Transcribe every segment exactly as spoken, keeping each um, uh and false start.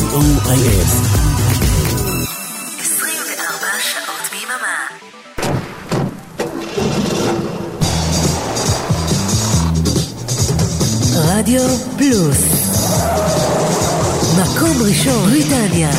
סי או איי אס. עשרים וארבע שעות ביממה. רדיו פלוס, מקום ראשון בריטניה.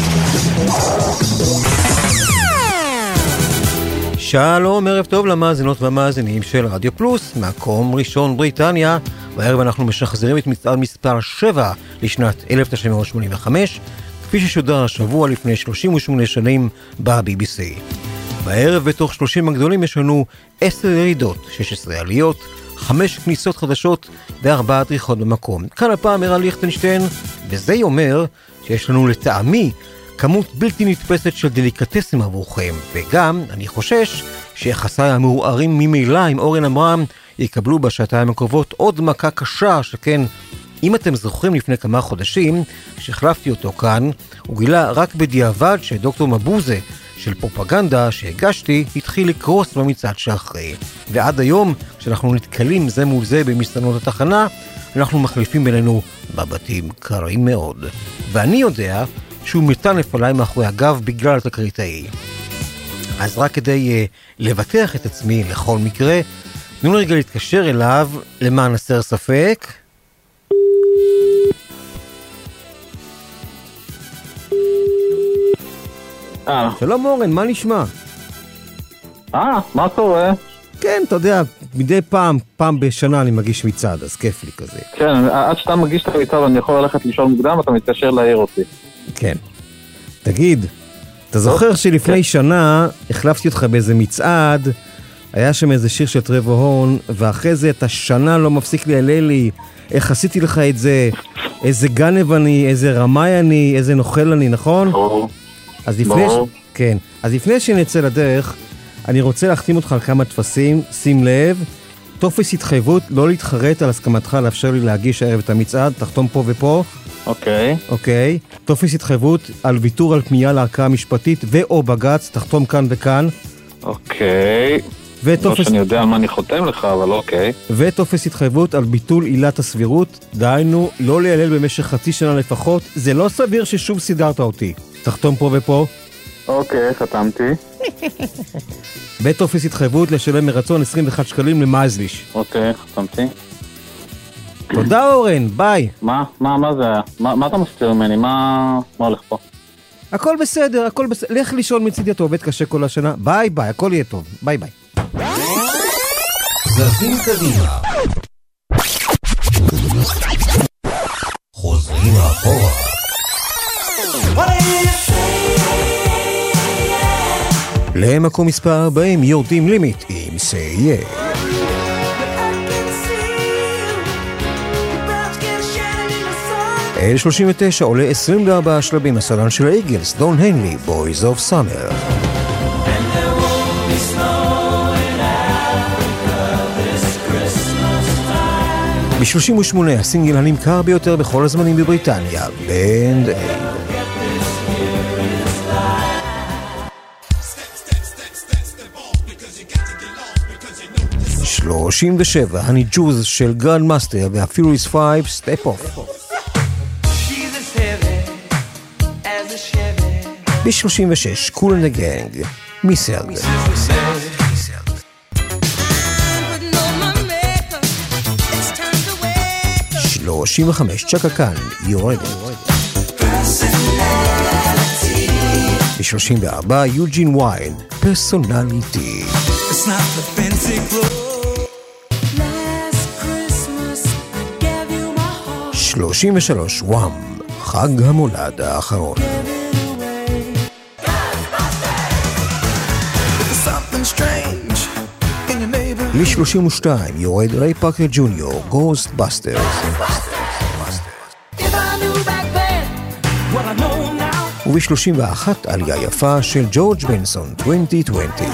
שלום, ערב טוב למאזינות והמאזינים של רדיו פלוס, מקום ראשון בריטניה. בערב אנחנו משחזרים את מצעד מספר שבע לשנת אלף תשע מאות שמונים וחמש, כפי ששודר השבוע לפני שלושים ושמונה שנים ב-בי בי סי. בערב בתוך שלושים הגדולים יש לנו עשר ירידות, שש עשרה עליות, חמש כניסות חדשות וארבע דריכות במקום. כאן הפעם ערן ליכטנשטיין, וזה אומר שיש לנו לטעמי כמות בלתי נתפסת של דליקטסים עבורכם, וגם אני חושש שיחסיי המעורערים ממילא עם אורן אמרם יקבלו בשעתיים הקרובות עוד מכה קשה, שכן אם אתם זוכרים לפני כמה חודשים כשהחלפתי אותו כאן, הוא גילה רק בדיעבד שדוקטור מבוזה של פרופגנדה שהגשתי התחיל לקרוס במצעד שאחרי, ועד היום כשאנחנו נתקלים זה מול זה במסתנות התחנה אנחנו מחליפים בינינו בבתים קרים מאוד, ואני יודע שהוא מטנף עליי מאחורי הגב בגלל התקריטאי. אז רק כדי uh, לבטח את עצמי לכל מקרה, תנו רגע להתקשר אליו למען הסר ספק. אה. שלום אורן, מה נשמע? אה, מה קורה? כן, אתה יודע, מדי פעם, פעם בשנה אני מגיש מצעד, אז כיף לי כזה. כן, עד שאתה מגיש את המצעד אני יכול ללכת לישון מוקדם, אתה מתקשר להעיר אותי. כן. תגיד, אתה זוכר שלפני שנה החלפתי אותך באיזה מצעד, היה שם איזה שיר של טרוור הורן, ואחרי זה אתה שנה לא מפסיק לי על אלי, איך עשיתי לך את זה, איזה גנב אני, איזה רמאי אני, איזה נוכל אני, נכון? ברור. אז לפני, ש... כן. אז לפני שנצא לדרך, אני רוצה להחתים אותך על כמה תפסים, שים לב, טופס התחייבות לא להתחרט על הסכמתך לאפשר לי להגיש הערב את המצעד, תחתום פה ופה. אוקיי. אוקיי. טופס התחייבות על ויתור על פנייה לערכאה המשפטית ואו בגץ, תחתום כאן וכאן. אוקיי. וטופס... לא שאני יודע על מה אני חותם לך, אבל אוקיי. וטופס התחייבות על ביטול עילת הסבירות, דהיינו, לא להיעלל במשך חצי שנה לפחות, זה לא סביר ששוב סידרת אותי. תחתום פה ופה. אוקיי, חתמתי. בטופס התחייבות לשלם מרצון עשרים ואחד שקלים למזליש. אוקיי, חתמתי. תודה אורן, ביי. מה? מה, מה זה היה? מה, מה אתה מסתיר ממני? מה, מה הולך פה? הכל בסדר, הכל בסדר. לך לישון מצידי, אתה עובד קשה כל השנה. ביי ביי, הכל יהיה טוב. ביי ביי. זזים קדימה. חוזרים אחורה. למקום מספר ארבעים יורדים לימיט עם סיייה. אל שלושים ותשע עולה עשרים וארבעה שלבים הסלן של האיגלס, דון הנלי, Boys of Summer. ב-שלושים ושמונה הסינגל הנמכר ביותר בכל הזמנים בבריטניה, בנד אייד. שלושים ושבע הני ג'וז של גרנדמאסטר והפיוריס פייב, סטפ אוף. ב-שלושים ושש קול אנד גנג, מיסלד. שלושים וחמש צ'קה קאן, יורדת. ב-שלושים וארבע יוג'ין ויילד, פרסונליטי. שלושים ושלוש וואם, חג המולד האחרון. ל-שלושים ושתיים יורד ריי פארקר ג'וניור, Ghostbusters. וב-שלושים ואחת עלייה יפה של ג'ורג' בנסון, עשרים עשרים.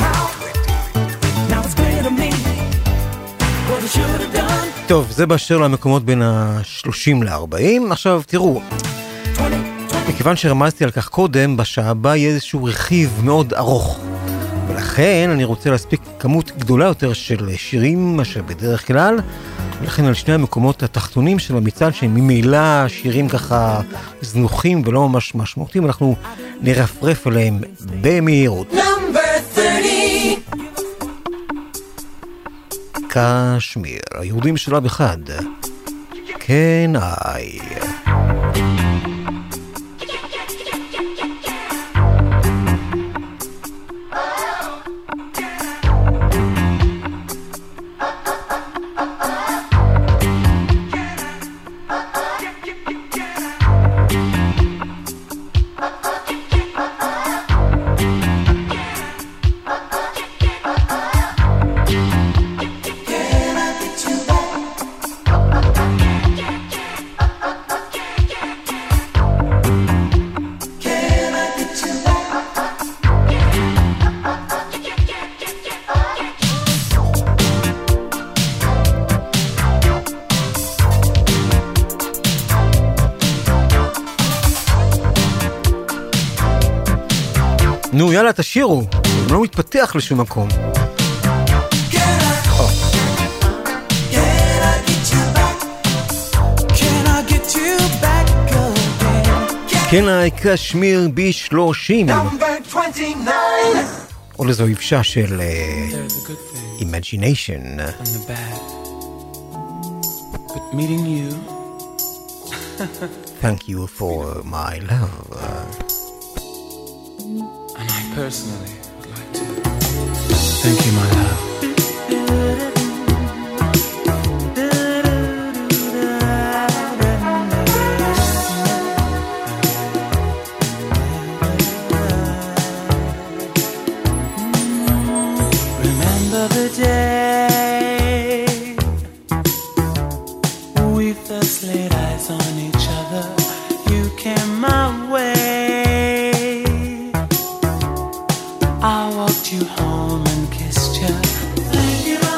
טוב, זה באשר למקומות בין ה-שלושים ל-ארבעים. עכשיו תראו, מכיוון שרמזתי על כך קודם, בשעה הבאה יהיה איזשהו רכיב מאוד ארוך, ולכן אני רוצה להספיק כמות גדולה יותר של שירים מאשר בדרך כלל, לכן על שני המקומות התחתונים של המצעד, שהם ממילא שירים ככה זנוחים ולא ממש משמעותיים, אנחנו נרפרף עליהם במהירות. קשמיר, היהודים שלב אחד. כן, איי. נו, יאללה, תשירו. זה לא מתפתח לשום מקום. כן, קשמיר ב-שלושים. עוד איזו יבשה של Imagination. Thank you for my love. And I personally would like to thank you, my love. Remember the day we first laid eyes on each other. You came my way. I walked you home and kissed you. Thank you, my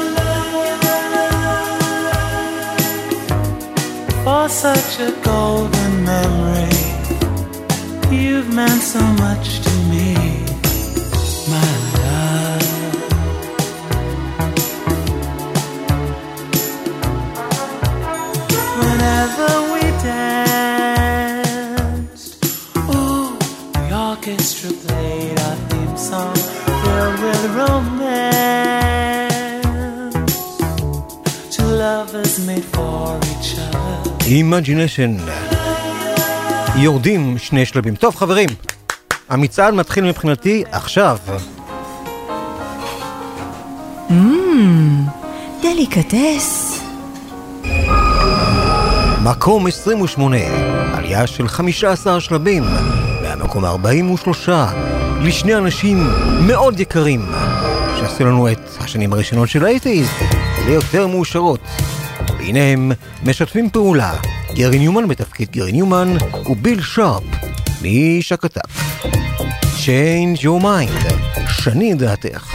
love, for such a golden memory. You've meant so much to me, my love. Whenever we danced, ooh, the orchestra played our theme song filled with romance. Two lovers made for each other. Imagination. יורדים שני שלבים. טוב חברים, המצעד מתחיל מבחינתי עכשיו. Mmm, דליקטס. מקום עשרים ושמונה, עלייה של חמישה עשר שלבים, מהמקום ארבעים ושלוש, לשני אנשים מאוד יקרים, שעשו לנו את השנים הראשונות של ה-שמונים ליותר מאושרות. והנה הם משתפים פעולה, גרי ניומן בתפקיד גרי ניומן וביל שרפ משקטק. Change your mind, שני דעתך.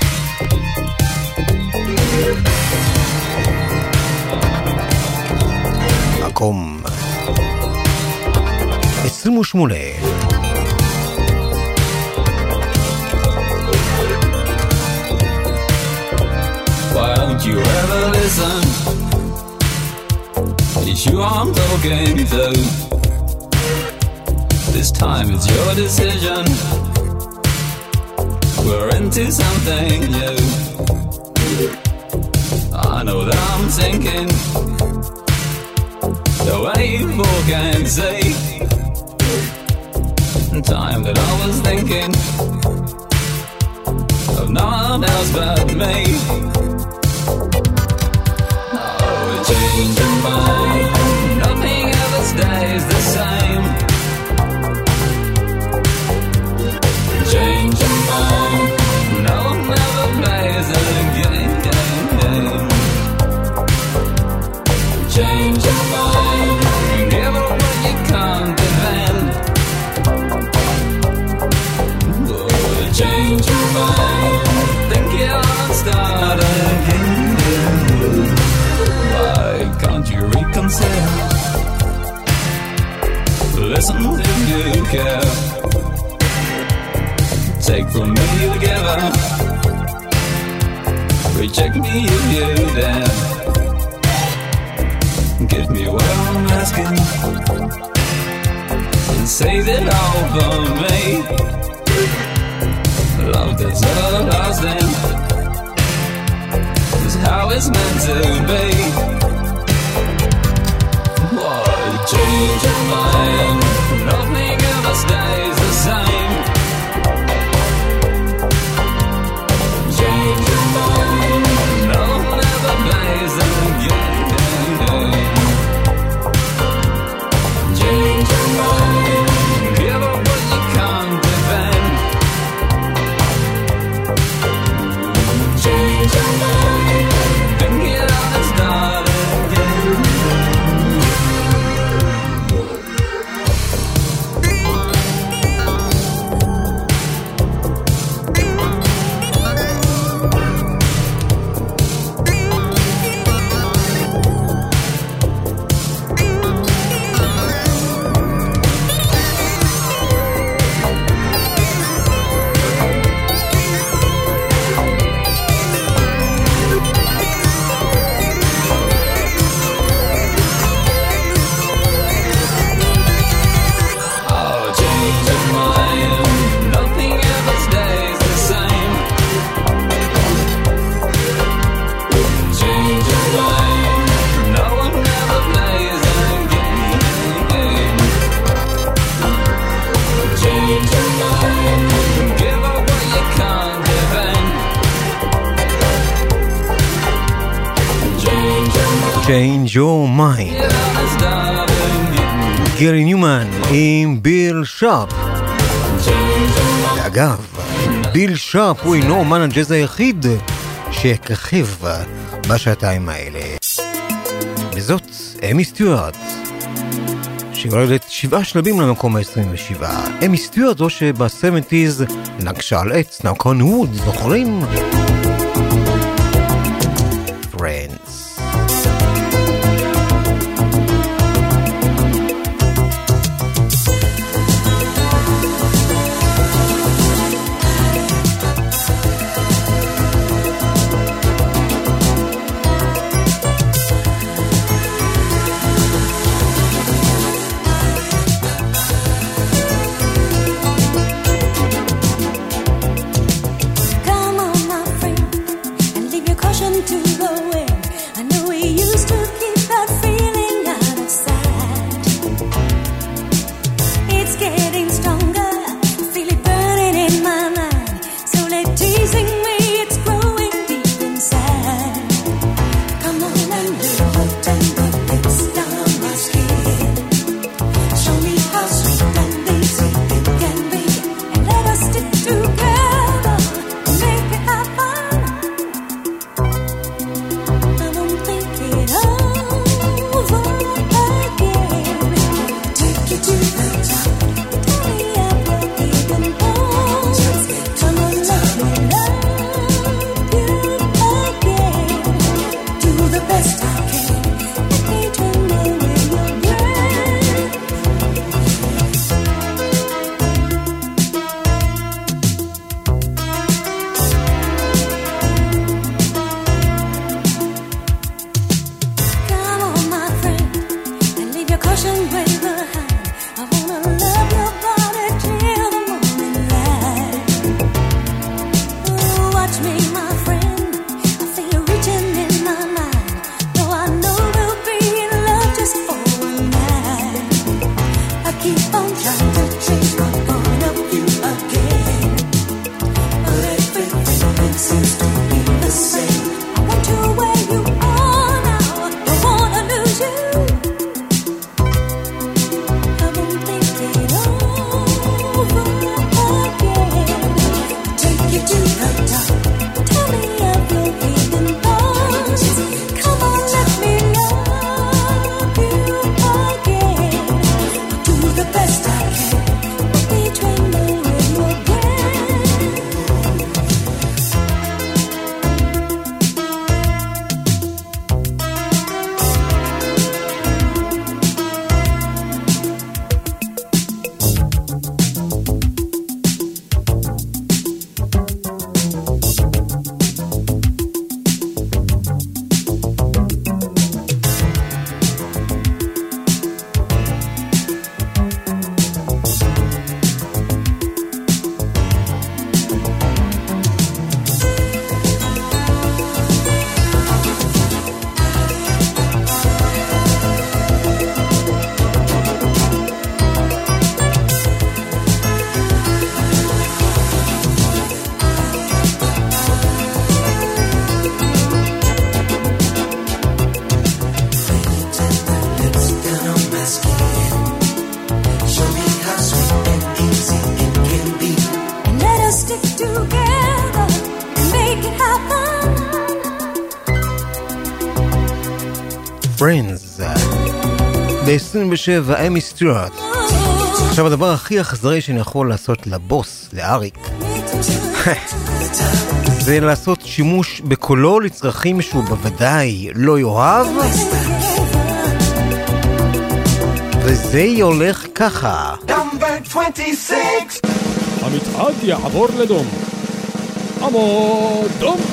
מקום עשרים ושמונה. Why don't you ever listen? It's you I'm talking to. This time it's your decision. We're into something new. I know that I'm sinking the way you walk and say. Time that I was thinking of no one else but me. Oh, change your mind. Nothing ever stays the same. Change your mind. No one ever plays a game. Change your mind. Give up what you can't defend. Change your mind. Think you'll start again. Why can't you reconsider? Listen if you care. Take from me together. Reject me if you dare. Give me what I'm asking and say that I'll burn me. Love that's everlasting is how it's meant to be. Why change your mind? Nothing ever stays the same. Change your mind. No one ever plays the game. Change your mind. Give up what you can't defend. Change your mind. Think it out and start again. Change your mind. גרי ניומן עם ביל שרפ. אגב, ביל שרפ הוא אינו אומן הג'אז היחיד שככב בשעתיים האלה. וזאת אמי סטיוארט, שיורדת שבעה שלבים למקום ה-עשרים ושבע. אמי סטיוארט זו שב-שבעים נגשה על עץ, נקון ווד, זוכרים? Friends. Come on, my friend, and leave your caution to the wind. Friends. ב-עשרים ושבע אמי סטיוארט. עכשיו הדבר הכי אכזרי שאני יכול לעשות לבוס, לאריק, זה לעשות שימוש בקולו לצרכים שהוא בוודאי לא יאהב, וזה הולך ככה. המצעד יעבור לדום. עמוד דום.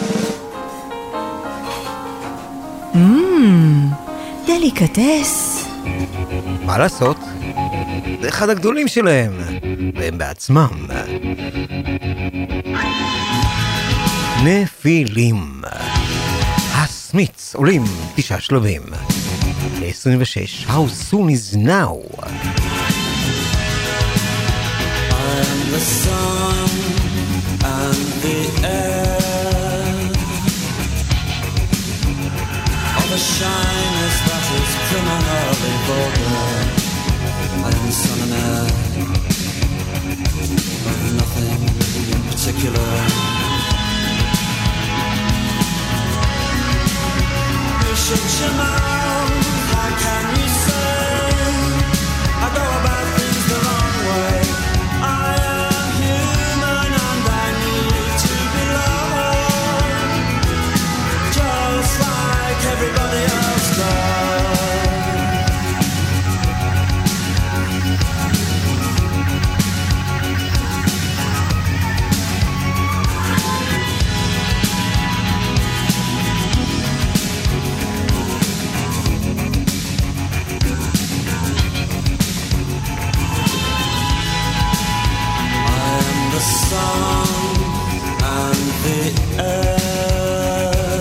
Mmm, דליקטס. מה לעשות? זה אחד הגדולים שלהם, והם בעצמם. נפילים. הסמיץ עולים תשעה שלבים. ל-עשרים ושש, How soon is now? I'm the sun and the air of a shyness that is criminally vulgar. I am the sun and air of nothing in particular. You should your mouth, how can you say I go about things the wrong way? I am human and I need to be loved, just like everybody else does. The sun and the air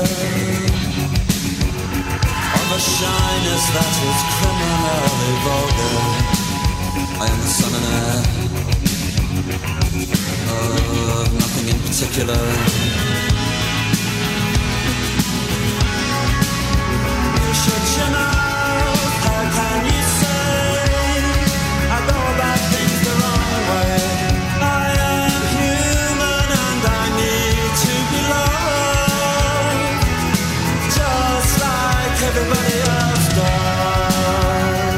of a shyness that is criminally vulgar. I am the sun and air of nothing in particular. You should you know, how can you say I go about things the wrong way? Everybody else does.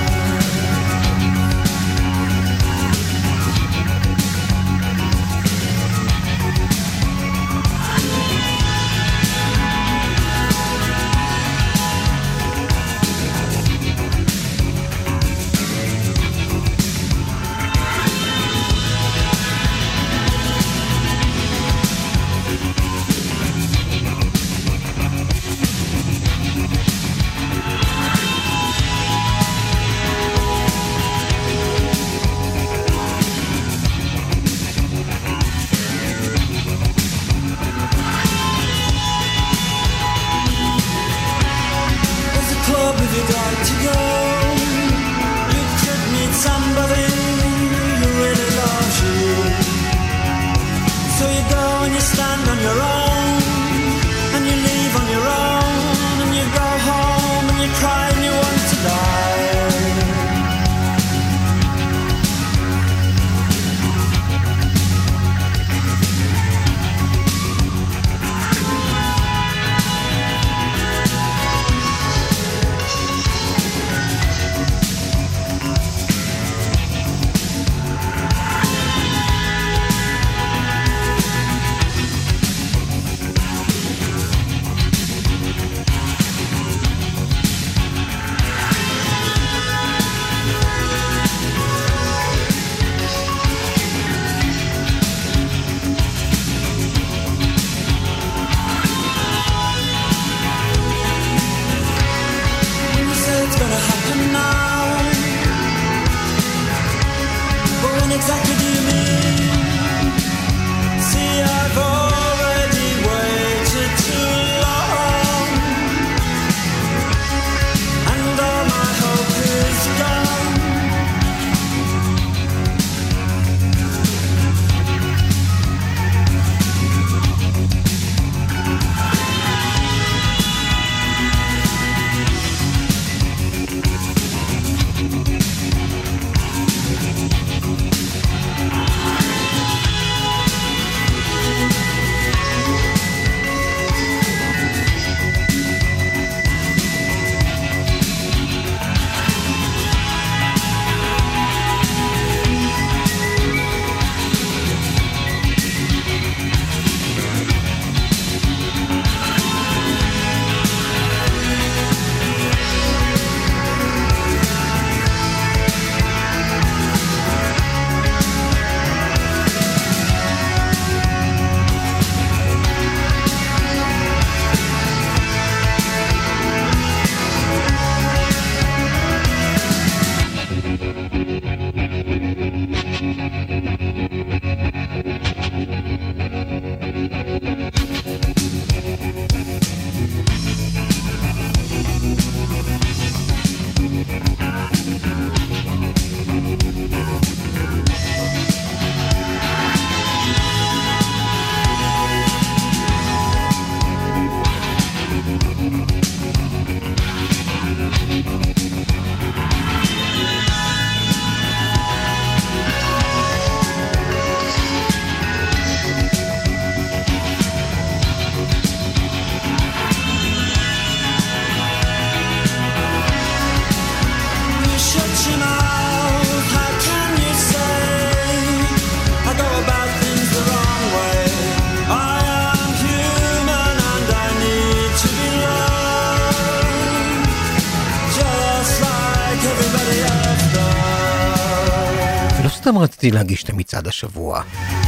סתם רציתי להגיש את המצעד השבוע.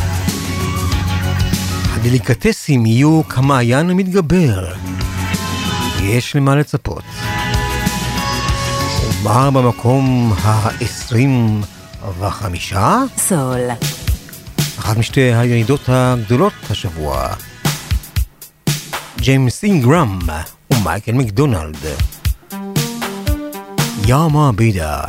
הדליקטסים יהיו כמעיין המתגבר. יש למה לצפות. ומה במקום ה-עשרים וחמישה? סול. אחת משתי הירידות הגדולות השבוע. ג'יימס אינגרם ומייקל מקדונלד. יאמה בידר.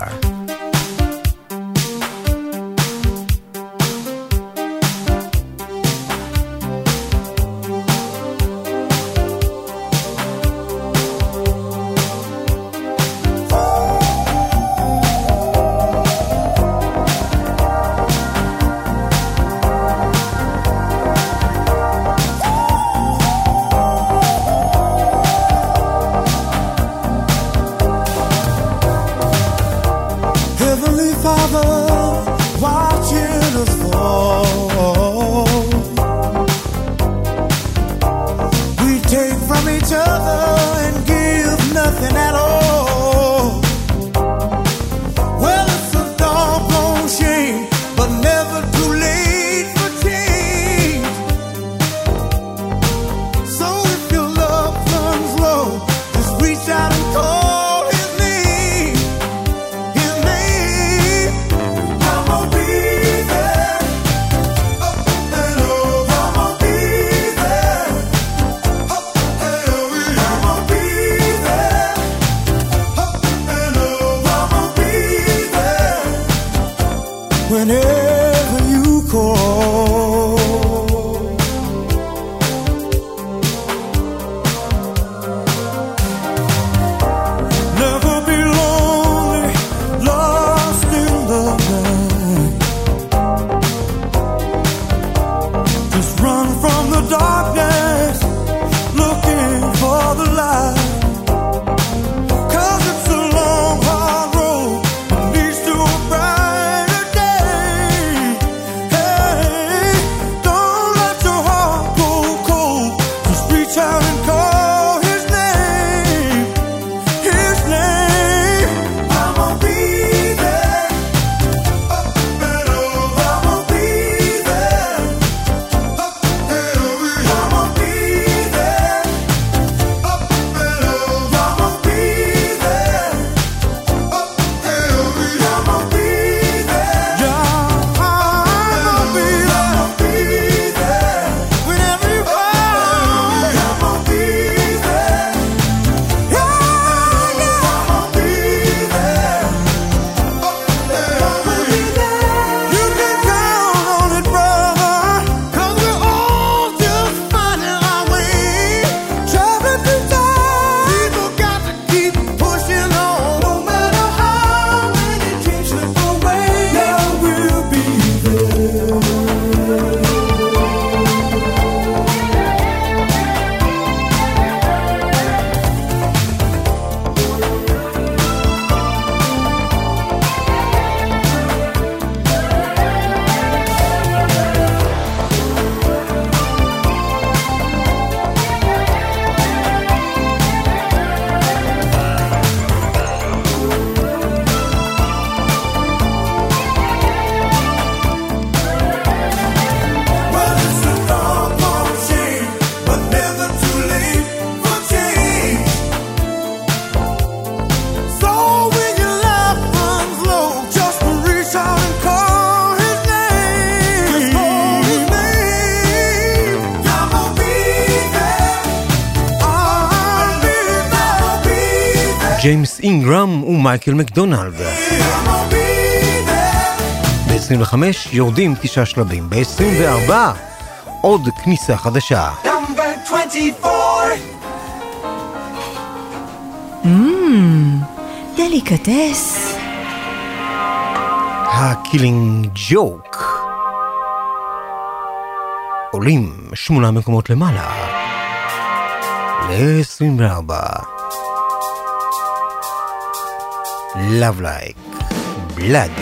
ג'יימס אינגרם ומייקל מקדונלד. ב-עשרים וחמש יורדים תשעה שלבים. ב-עשרים וארבע עוד כניסה חדשה. Mmm, דליקטס. הקילינג ג'וק. עולים שמונה מקומות למעלה. ל-עשרים וארבע. Love Like Blood.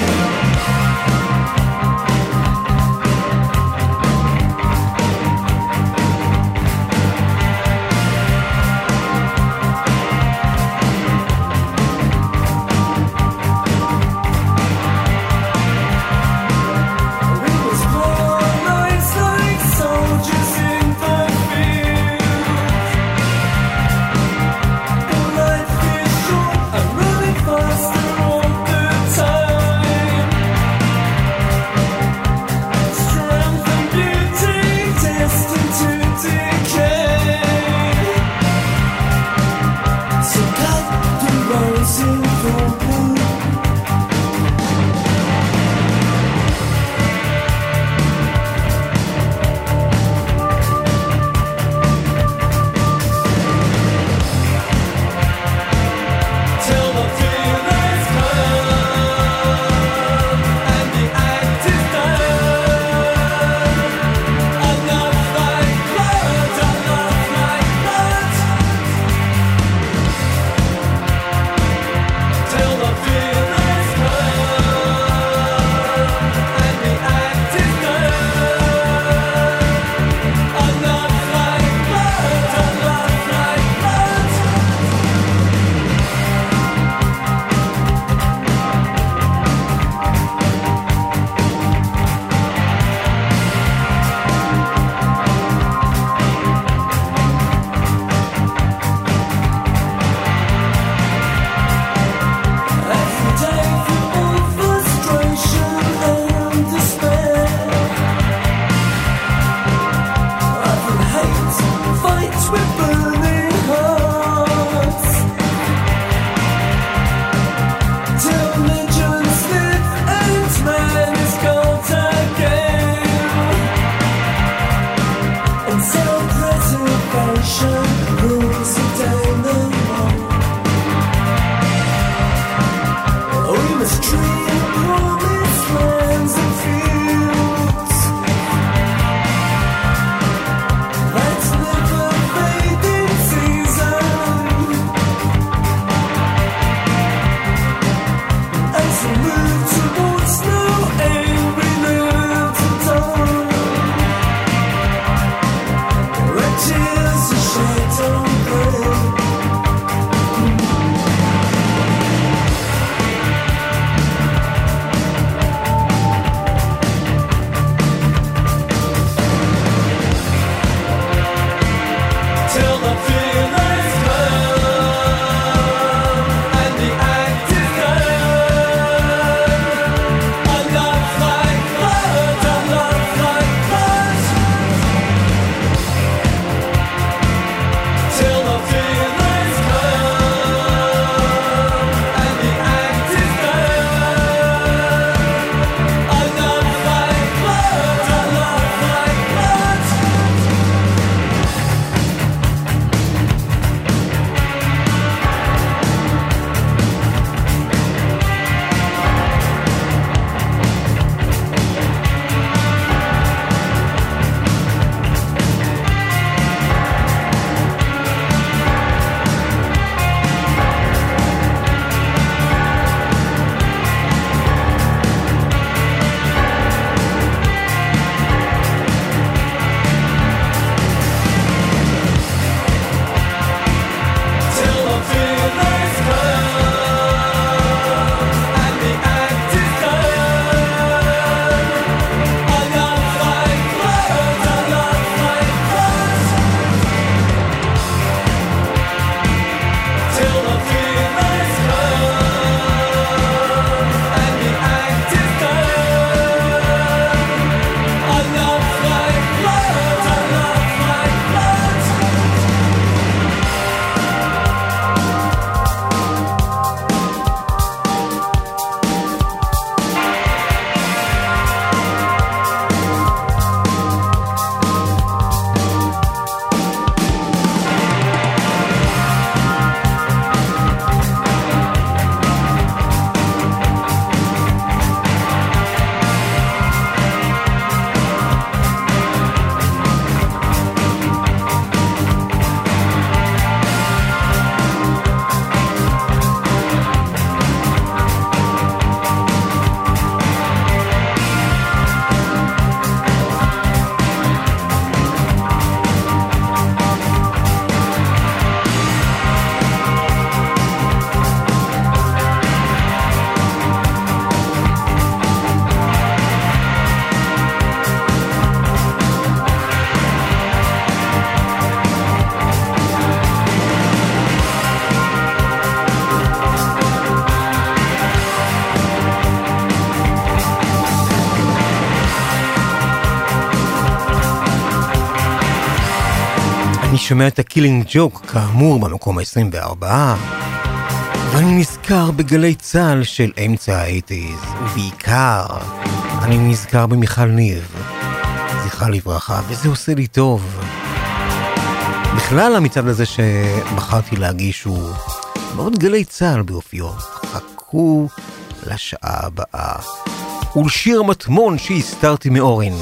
שומע את הקילינג ג'וק כאמור במקום ה-עשרים וארבע, ואני נזכר בגלי צהל של אמצע ה-שמונים, ובעיקר אני נזכר במיכל ניב, זכרה לברכה, וזה עושה לי טוב. בכלל המצעד הזה שבחרתי להגיש הוא מאוד גלי צהל באופיו. חכו לשעה הבאה. ולשיר מטמון שהסתרתי מאורין.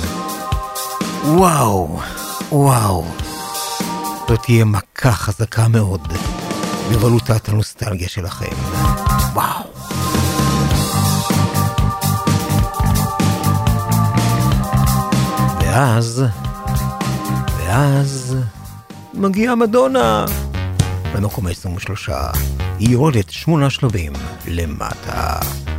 וואו, וואו. זאת תהיה מכה חזקה מאוד בבלוטת הנוסטלגיה שלכם. וואו. ואז, ואז מגיעה מדונה למקום ה-עשרים ושלוש. היא יורדת שמונה שלבים למטה.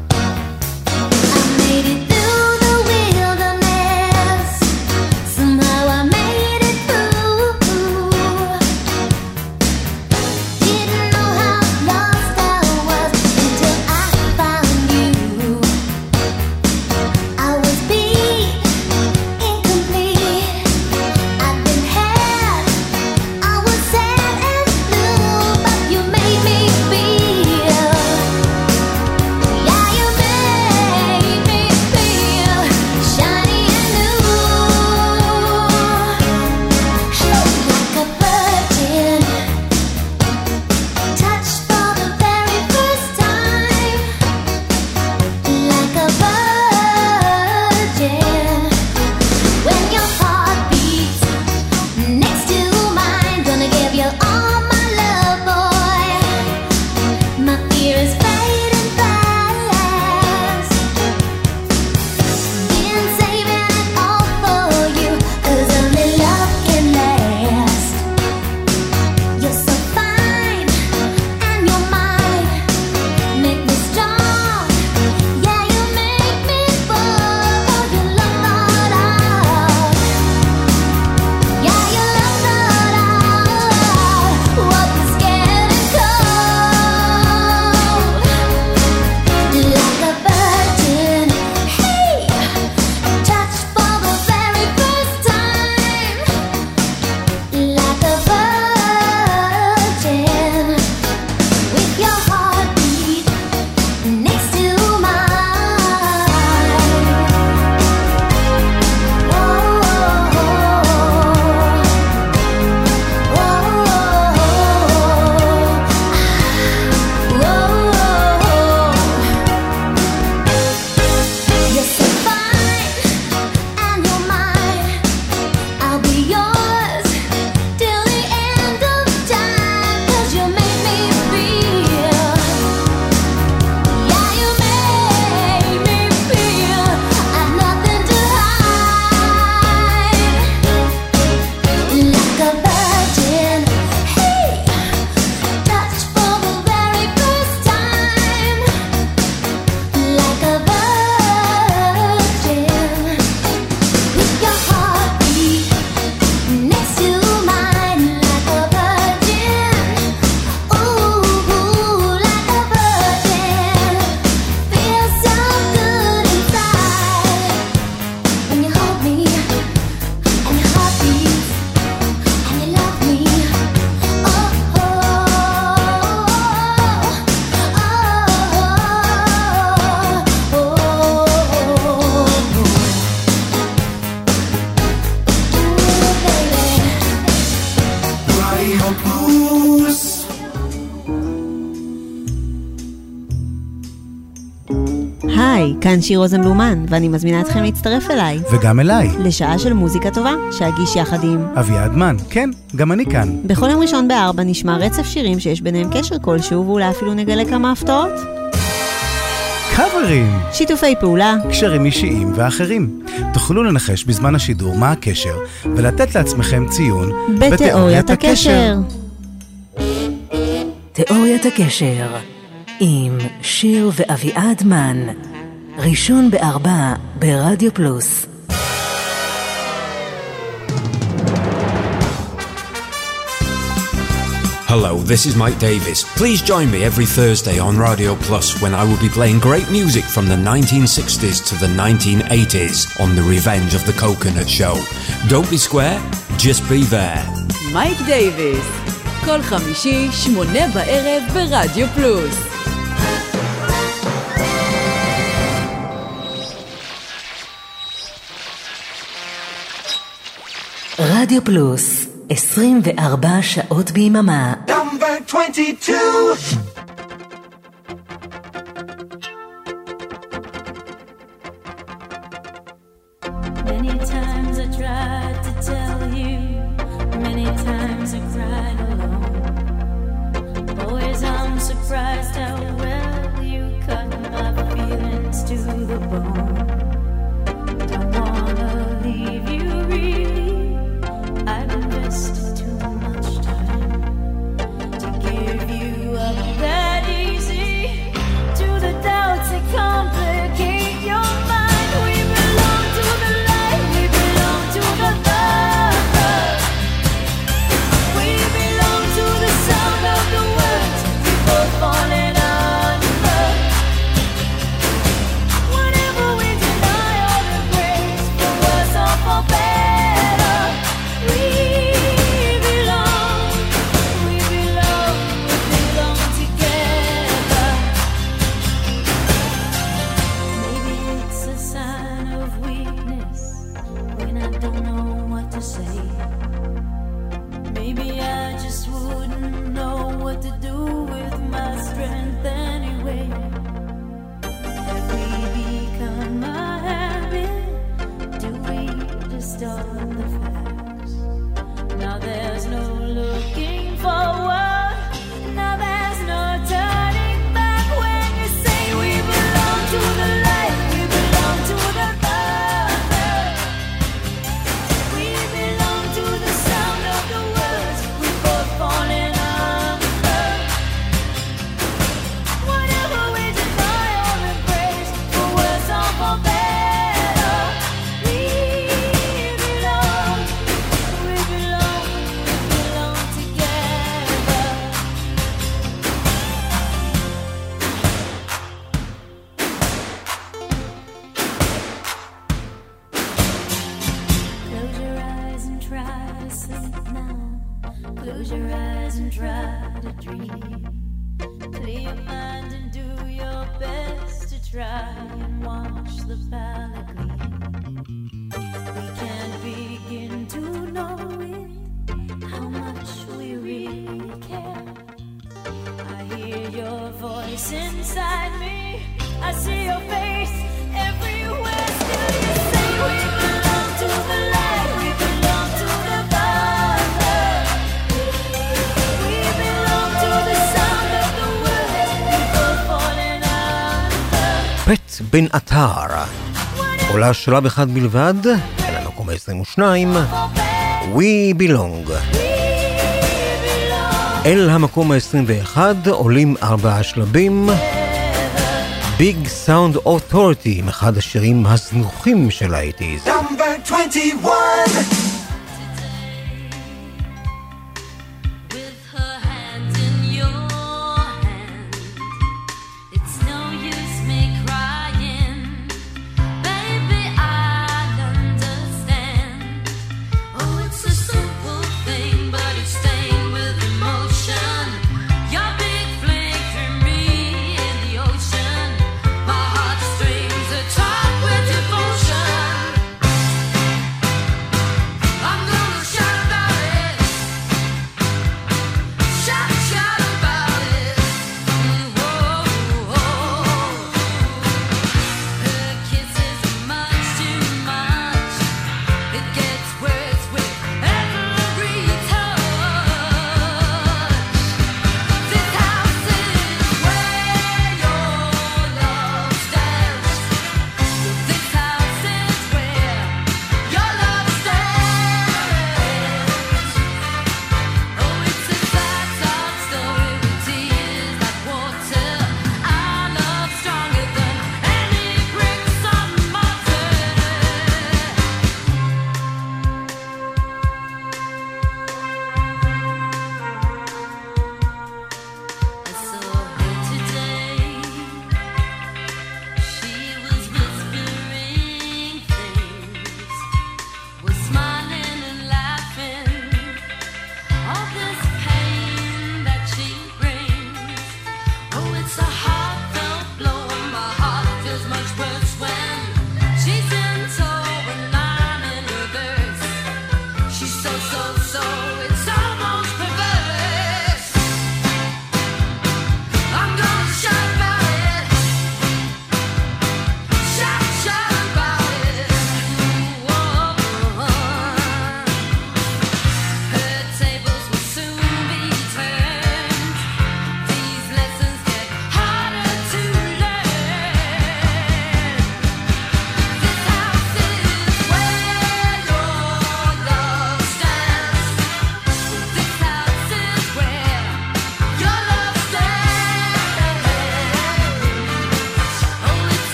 היי, כאן שיר רוזנבלומן, ואני מזמינה אתכם להצטרף אליי. וגם אליי. לשעה של מוזיקה טובה, שאגיש יחד עם אביעד מן. כן, גם אני כאן. בכל יום ראשון בארבע נשמע רצף שירים שיש ביניהם קשר כלשהו, ואולי אפילו נגלה כמה הפתעות. קאברים. שיתופי פעולה. קשרים אישיים ואחרים. תוכלו לנחש בזמן השידור מה הקשר, ולתת לעצמכם ציון בתיאוריית הקשר. תיאוריית הקשר עם שיר ואביעד מן, ראשון בארבע ברדיו פלוס. Hello, this is Mike Davis. Please join me every Thursday on Radio Plus when I will be playing great music from the nineteen sixties to the nineteen eighties on the Revenge of the Coconut Show. Don't be square, G just be there. מייק דייביס, כל חמישי, שמונה בערב ברדיו פלוס. רדיו פלוס, עשרים וארבע שעות ביממה. Number twenty-two. Many times I tried to tell you, many times I cried alone. Always I'm surprised how well you cut my feelings to the bone. Don't wanna leave you really, I've invested too much time to give you up that easy to the doubts that complicate your mind. We belong to the light, we belong to the dark. We belong to the sound of the words we both falling under. Whenever we deny all the grace, for worse or for better, we belong, we belong, we belong together. Maybe it's a sign of weakness when I don't know what to say. Maybe I just wouldn't know what to do with my strength anyway. Have we become a habit? Do we distort the facts? Now there's no looking forward. Now there's no turning back when you say we belong to the light, we belong to the dark. We belong to the sound of the words we both falling under. Whatever we deny all the grace, for worse or for better, we belong, we belong, we belong together. Close your eyes and try to sleep now. Close your eyes and try to dream. Clear your mind and do your best to try and watch the palette gleam. We can't begin to know it, how much we really care. I hear your voice inside me, I see your face everywhere. Still you say we belong to the light, we belong to the dark. We belong to the sound of the words we both falling under. פט בן עטר, עולה שלב אחד בלבד, אל המקום ה-עשרים ושתיים, We Belong. אל המקום ה-עשרים ואחד עולים ארבעה שלבים, Big Sound Authority, אחד השירים הזנוחים של ה-שמונים. Number twenty-one. With her hand in your hand, it's no use me crying. Baby, I understand. Oh, it's a simple thing, but it's stained with emotion. Your big fling threw me in the ocean. My heartstrings are tied with devotion.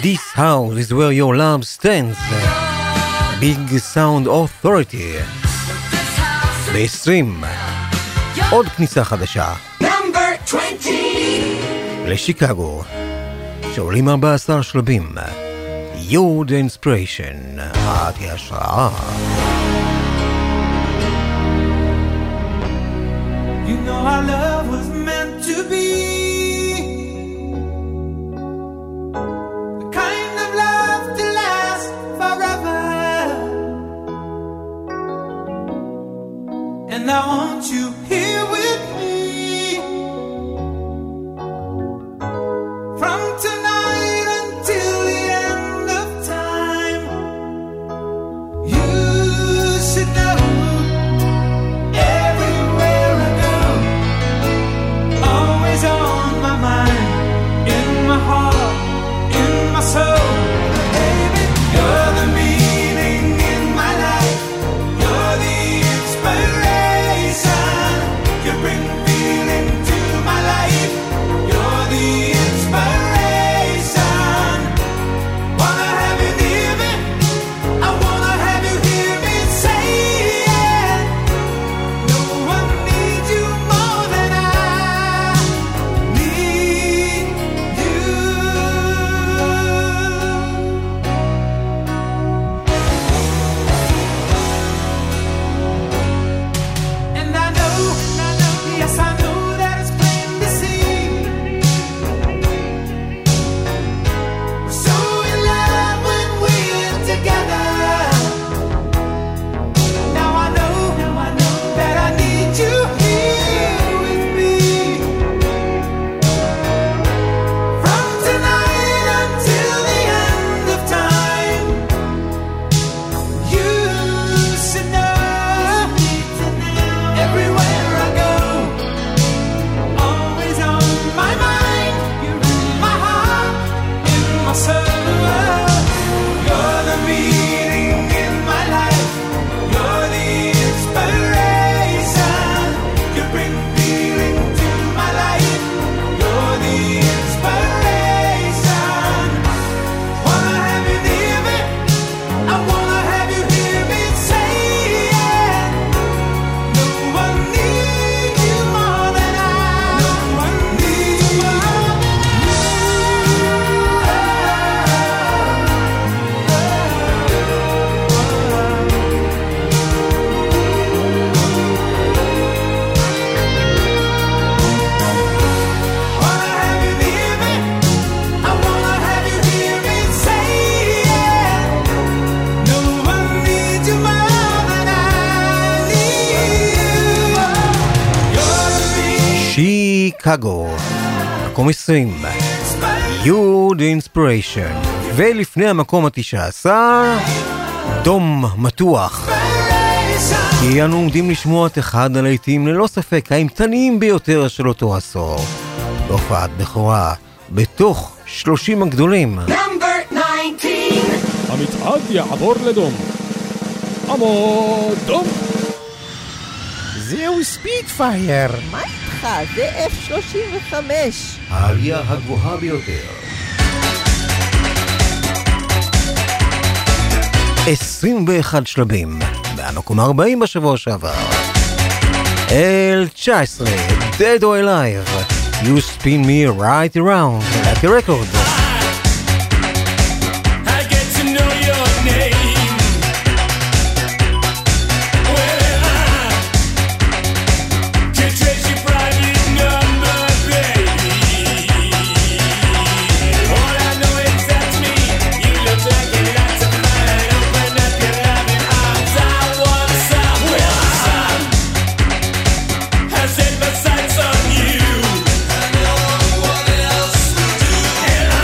This house is where your love stands. Big Sound Authority. ב-עשרים. עוד כניסה חדשה. לשיקגו. שעולים ארבעה עשר שלבים. You're the inspiration. את ההשראה. You know our love was meant to be the kind of love to last forever. And I want you here with me from tonight until the end of time. You should know everywhere I go, always on my mind, in my heart, in my soul. Baby, you're the meaning in my life. You're the inspiration. You bring feeling to my life. You're the inspiration. Wanna have you near me. I wanna have you hear me say it. No one needs you more than I need you. And I know, yes I know that it's plain to see. We're so in love when we're together. Now I know, that I need you here with me from tonight until the end of time. You should know everywhere I go, always on my mind, my heart, in my soul. You're the meaning in my life. You're the inspiration. You bring feeling to my life. You're the inspiration. Wanna have you near me. I wanna have you hear me say it. No one needs you more than I. No one needs you more than Wanna have you near me. I wanna have you hear me say it. No one needs you more than I need you. You're the שיקגו. מקום עשרים. You're the inspiration. ולפני המקום התשע עשר, דום מתוח. כי אנו עומדים לשמוע את אחד הלהיטים ללא ספק האימתניים ביותר של אותו עשור. בהופעת בכורה, בתוך שלושים הגדולים. המצעד יעבור לדום. עמוד דום. זהו ספיטפייר. מה איתך? זה אף שלושים וחמש. העלייה הגבוהה ביותר. עשרים ואחד שלבים, מהמקום ארבעים בשבוע שעבר. אל תשע עשרה, Dead or Alive, You Spin Me Right Around, like a record. I get to know your name. Well, I can trace your private number, baby. All I know is that's me. You look like a lot of fun. Open up your loving arms. I want some. Well, I set my sights on you. I know what else to do. And I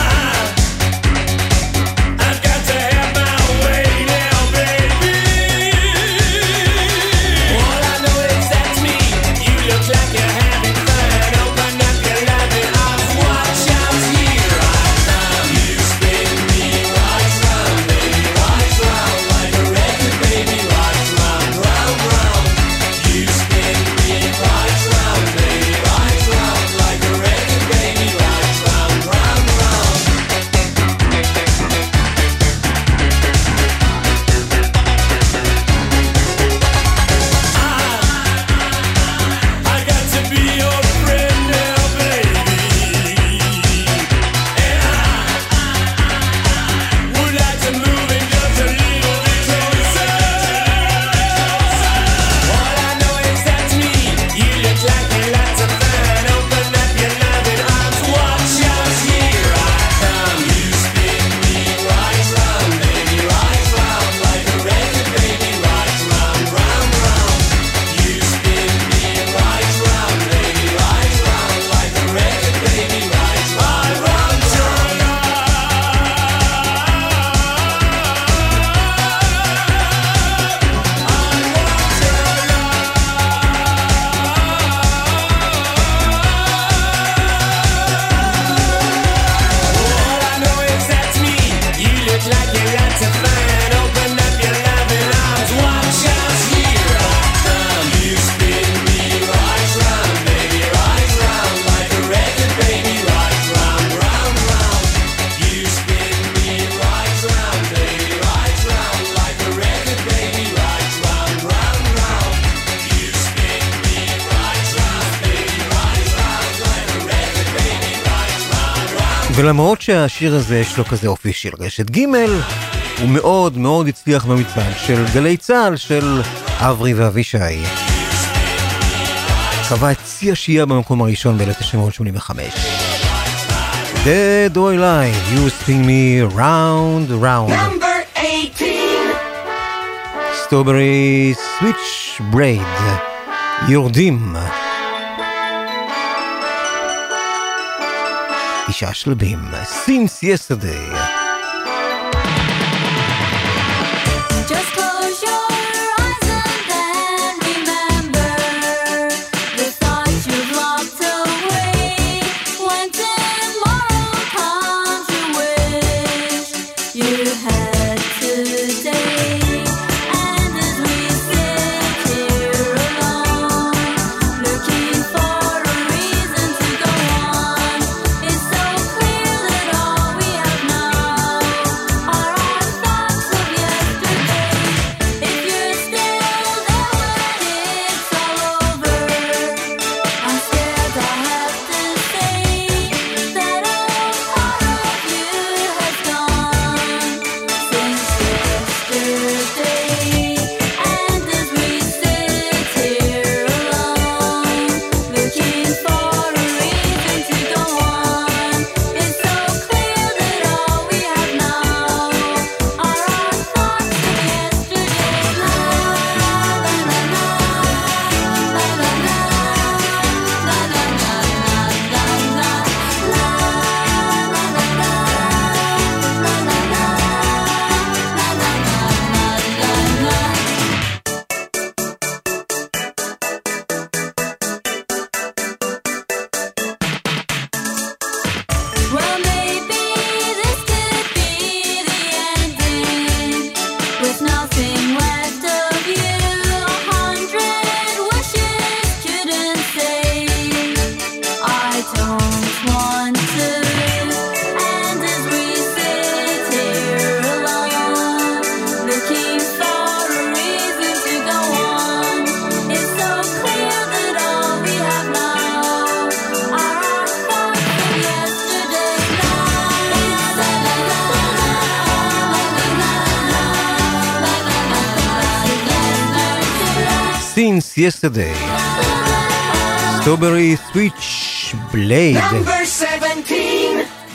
ולמרות שהשיר הזה יש לו כזה אופי של רשת ג', הוא מאוד מאוד הצליח במצעד של גלי צהל של אברי ואבישי. קבע את צי השיעה במקום הראשון ב-אלף תשע מאות שמונים וחמש. Dead or Alive, You Spin Me Round Round. Number eighteen. Strawberry Switchblade, יורדים. תשעה שלבים, Since Yesterday. Just close your eyes and then remember the thoughts you've locked away. When tomorrow comes, you wish you had today. And as we sit here alone, looking for a reason to go on, it's so clear that all we have now are our thoughts of yesterday. If you're still there when it's all over, I'm scared I'll have to say that a part of you has gone since yesterday. And as we sit here alone, looking for a reason to go on, it's so clear that all we have now are our thoughts of yesterday. La la la la, la la la, la la la la, la la Well, maybe this could be the ending, with nothing left of you. A hundred wishes couldn't say I don't want to. And as we sit here alone, looking for a reason to go on, it's so clear that all we have now are our thoughts of yesterday. Since Yesterday, Strawberry Switchblade, Number seventeen.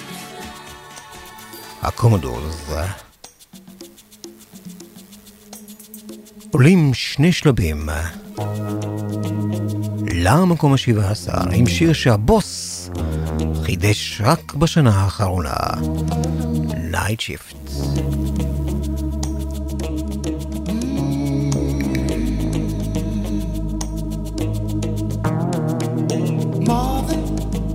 הקומודורס. עולים שני שלבים למקום השבעה עשר עם שיר שהבוס חידש רק בשנה האחרונה, Night Shift. Marvin,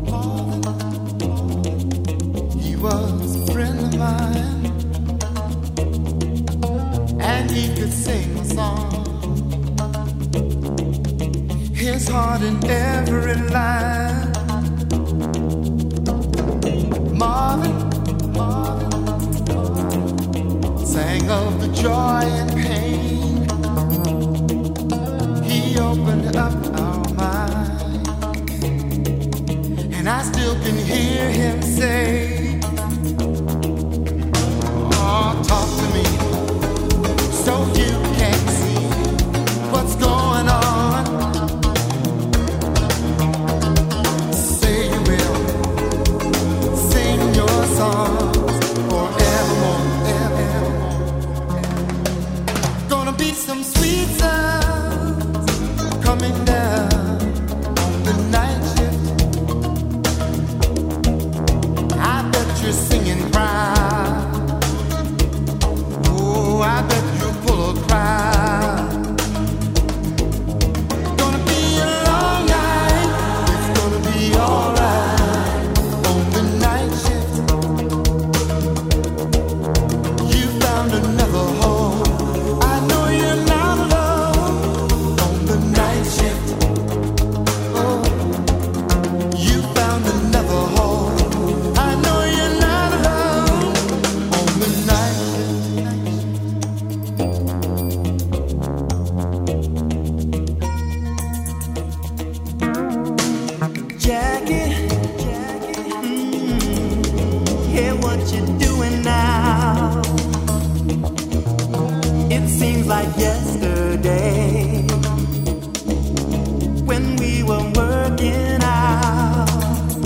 he was a friend of mine, and he could sing a song. His heart in every line. Marvin, Marvin sang of the joy and pain. He opened up our mind, and I still can hear him say, oh, talk to me so you can see what's going on. Say you will sing your songs forevermore, evermore. Gonna be some sweet sounds coming down on the night shift. I bet you're singing proud. Oh, I bet you're full of pride. Gonna be a long night. It's gonna be alright on the night shift. You found another home. I know you're not like yesterday when we were working out.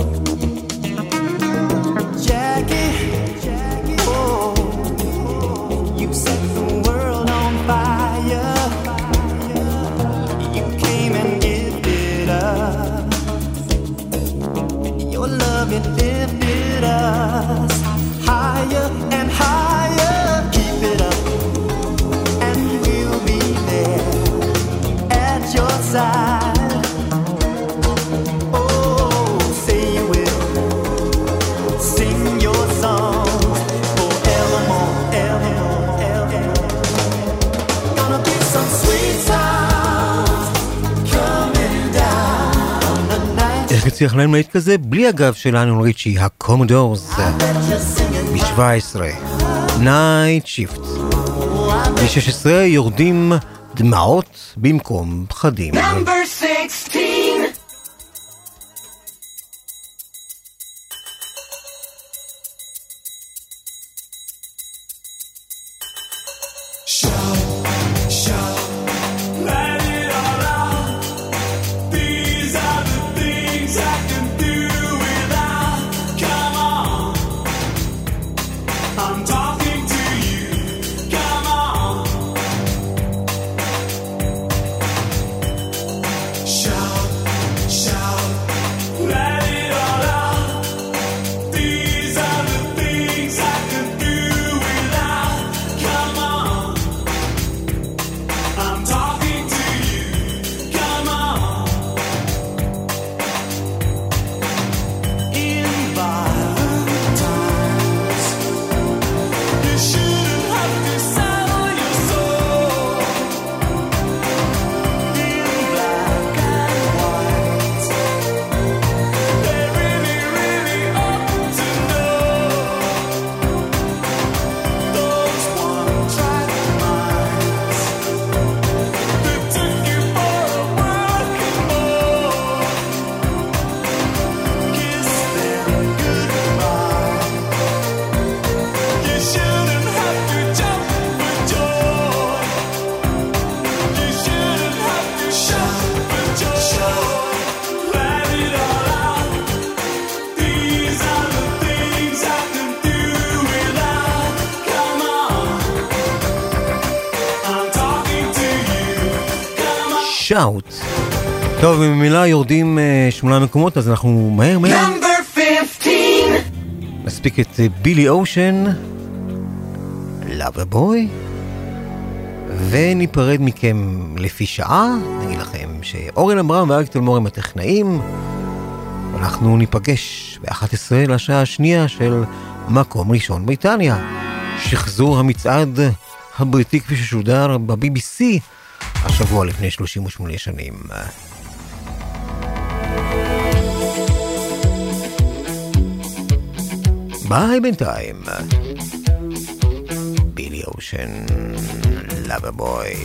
Jackie, Jackie, oh, you set the world on fire. You came and gifted us your love, it lifted us higher and higher. Keep it up, and we'll be there at your side. Oh, say you will sing your songs forevermore, evermore, evermore. Gonna be some sweet sounds coming down the night. איך הצליח להם להיט כזה? בלי הגב של ליונל ריצ'י, הקומודורס, ב-שבע עשרה, Night Shift. ב-שש עשרה יורדים דמעות במקום פחדים. Number sixteen. שאוט. טוב, במילה יורדים uh, שמונה מקומות, אז אנחנו מהר מהר נספיק את בילי אושן, Lover Boy, וניפרד מכם לפי שעה. נגיד לכם שאורן אברהם ואריק תלמור הם הטכנאים. אנחנו ניפגש ב-אחת עשרה לשעה השנייה של מקום ראשון בריטניה, שחזור המצעד הבריטי כפי ששודר ב-בי בי סי השבוע לפני שלושים ושמונה שנים. ביי בינתיים. בילי אושן, Lover Boy.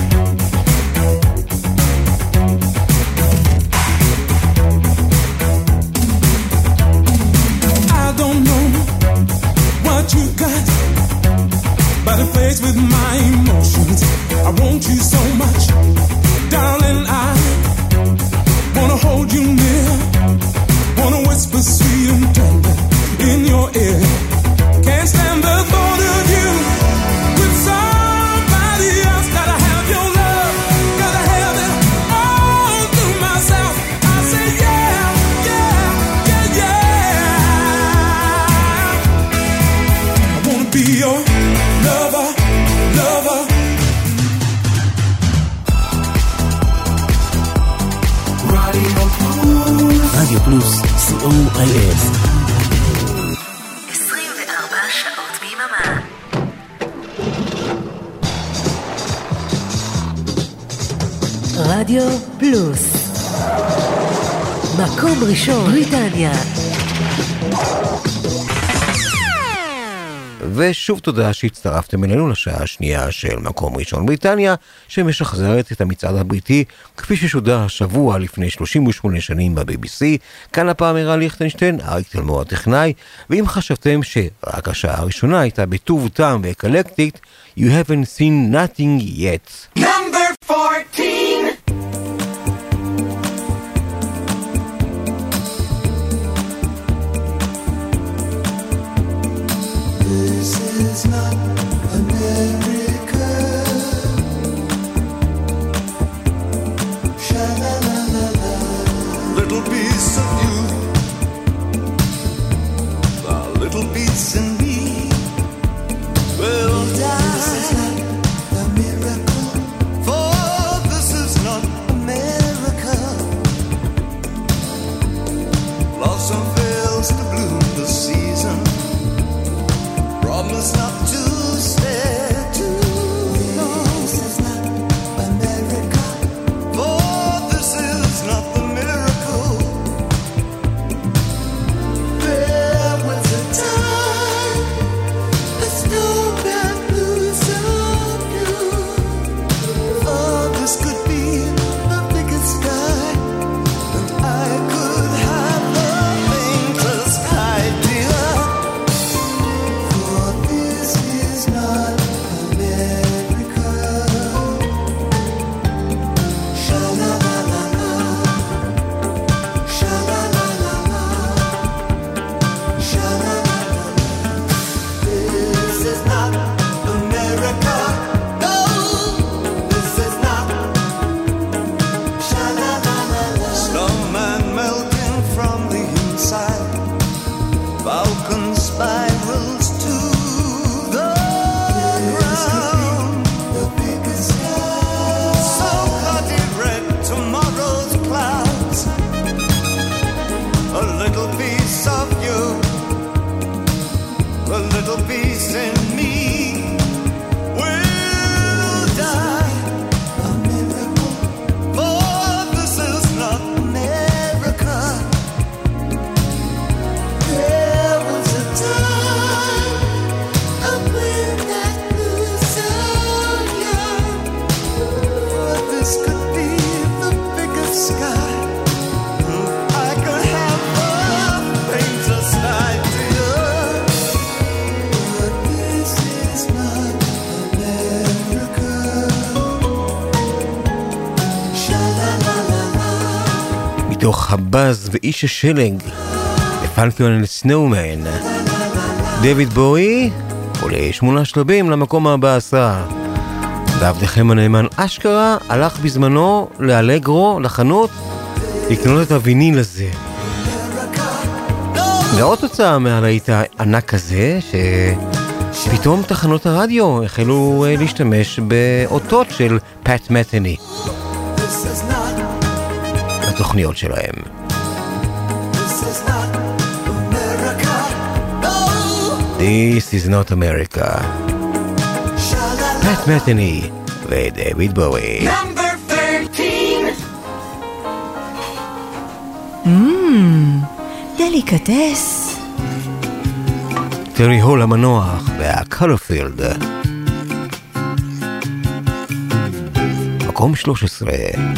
I don't know what you got, but it plays with my emotions. I want you so much, darling. I wanna hold you near, wanna whisper sweet and tender in your ear. Can't stand the thought of you with somebody else. Gotta have your love, gotta have it all to myself. I say yeah, yeah, yeah, yeah. I wanna be your lover, lover. רדיו פלוס, סי או איי אס. עשרים וארבע שעות ביממה. רדיו פלוס, מקום ראשון בריטניה. ושוב תודה שהצטרפתם אלינו לשעה השנייה של מקום ראשון בריטניה, שמשחזרת את המצעד הבריטי כפי ששודר השבוע לפני שלושים ושמונה שנים ב-בי בי סי. כאן הפעם הראה ליכטנשטיין, אריק תלמור הטכנאי, ואם חשבתם שרק השעה הראשונה הייתה בטוב טעם ואקלקטית, you haven't seen nothing yet. Number fourteen. This is not America. Sha-la-la-la-la. Little piece of you, a little piece in me will die. This is not a miracle, for this is not America. Blossom fails to bloom this season. Promise not to stay too long. This is not America, for this is not the miracle. There was a time a snowman blew some you. Oh, this could be the biggest sky, and I could have the faintest idea. This is not America. Sha-la-la-la-la. Sha-la-la-la-la. Sha-la-la-la-la. This is not America. No, this is not. Sha-la-la-la-la. Snowman melting from the inside. Falcon spirals to the ground. The biggest sky. So bloody red tomorrow's clouds. A little piece of you, a little piece in me will die. A miracle, for this is not America. There was a time up when that blew so young. For this could be the biggest sky. I could have the faintest idea. But this is not America. Sha-la-la-la-la. מתוך הבאז ואיש השלג, פלקון סנואומן, דויד בואי עולה שמונה שלבים למקום הבא עשה. ועבדכם הנאמן אשכרה הלך בזמנו לאלגרו, לחנות, לקנות את הוויניל הזה. ועוד תוצאה מהלהיט הענק הזה, שפתאום תחנות הרדיו החלו להשתמש באותות של פאט מתני בתוכניות שלהם. This is not America. פאט מתני ודויד בואי. Number thirteen. Mmm, דליקטס. טרי הול המנוח והקולרפילד. מקום שלוש עשרה.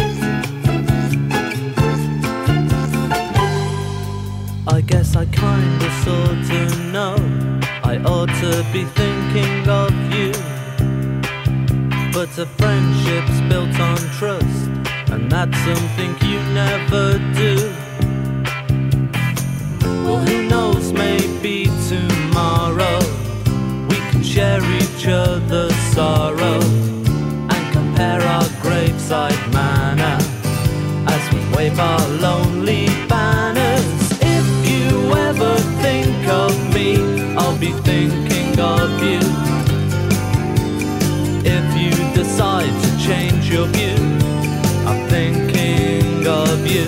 I guess I kinda sorta know I ought to be thinking of you, but a friendship's built on trust, and that's something you never do. Well, who knows, maybe tomorrow we can share each other's sorrow and compare our graveside manner as we wave our lonely banners. If you ever think of me, I'll be thinking of you. If you decide to change your view, I'm thinking of you.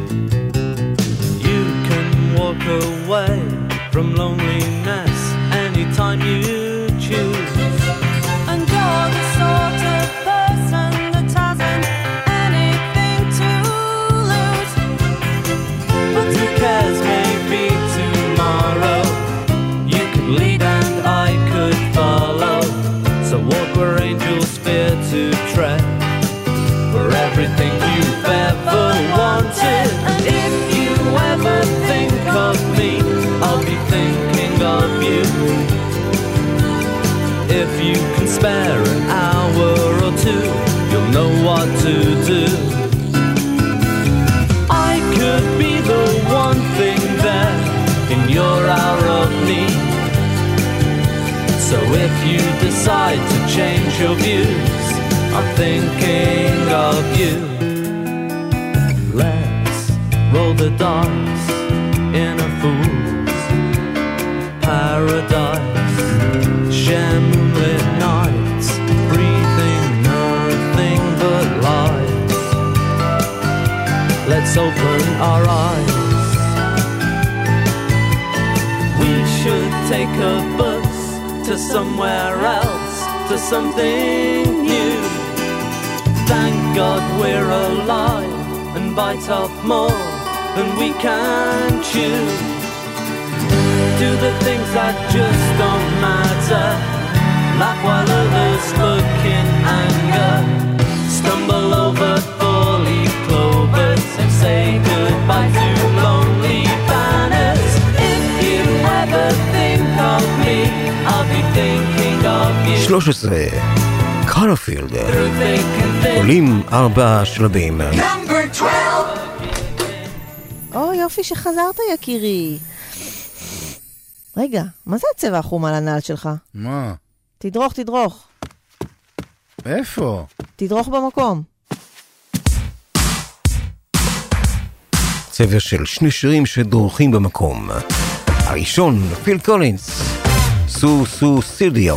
You can walk away from loneliness anytime you choose. And you're the sort of person that hasn't anything to lose. But who cares, maybe tomorrow you could lead and I could walk where angels fear to tread, for everything you've ever wanted. And if you ever think of me, I'll be thinking of you. If you can spare an hour or two, you'll know what to do. I could be the one thing there in your hour of need. So if you decide to change your views, I'm thinking of you. Let's roll the dice in a fool's paradise. Share moonlit nights, breathing nothing but light. Let's open our eyes. We should take a bus to somewhere else, to something new. Thank God we're alive and bite off more than we can chew. Do the things that just don't matter, laugh while others look in anger, stumble over four-leaf clovers and say goodbye to lonely banners. If you ever think of me, I'll be thinking of you. שלוש עשרה, קולרפילד, עולים ארבע שלבים. או יופי שחזרת יקירי. רגע, מה זה הצבע החום על הנעל שלך? מה? תדרוך, תדרוך. איפה? תדרוך במקום. צבע של שני שירים שדורכים במקום. הראשון, פיל קולינס, סו סו סטודיו.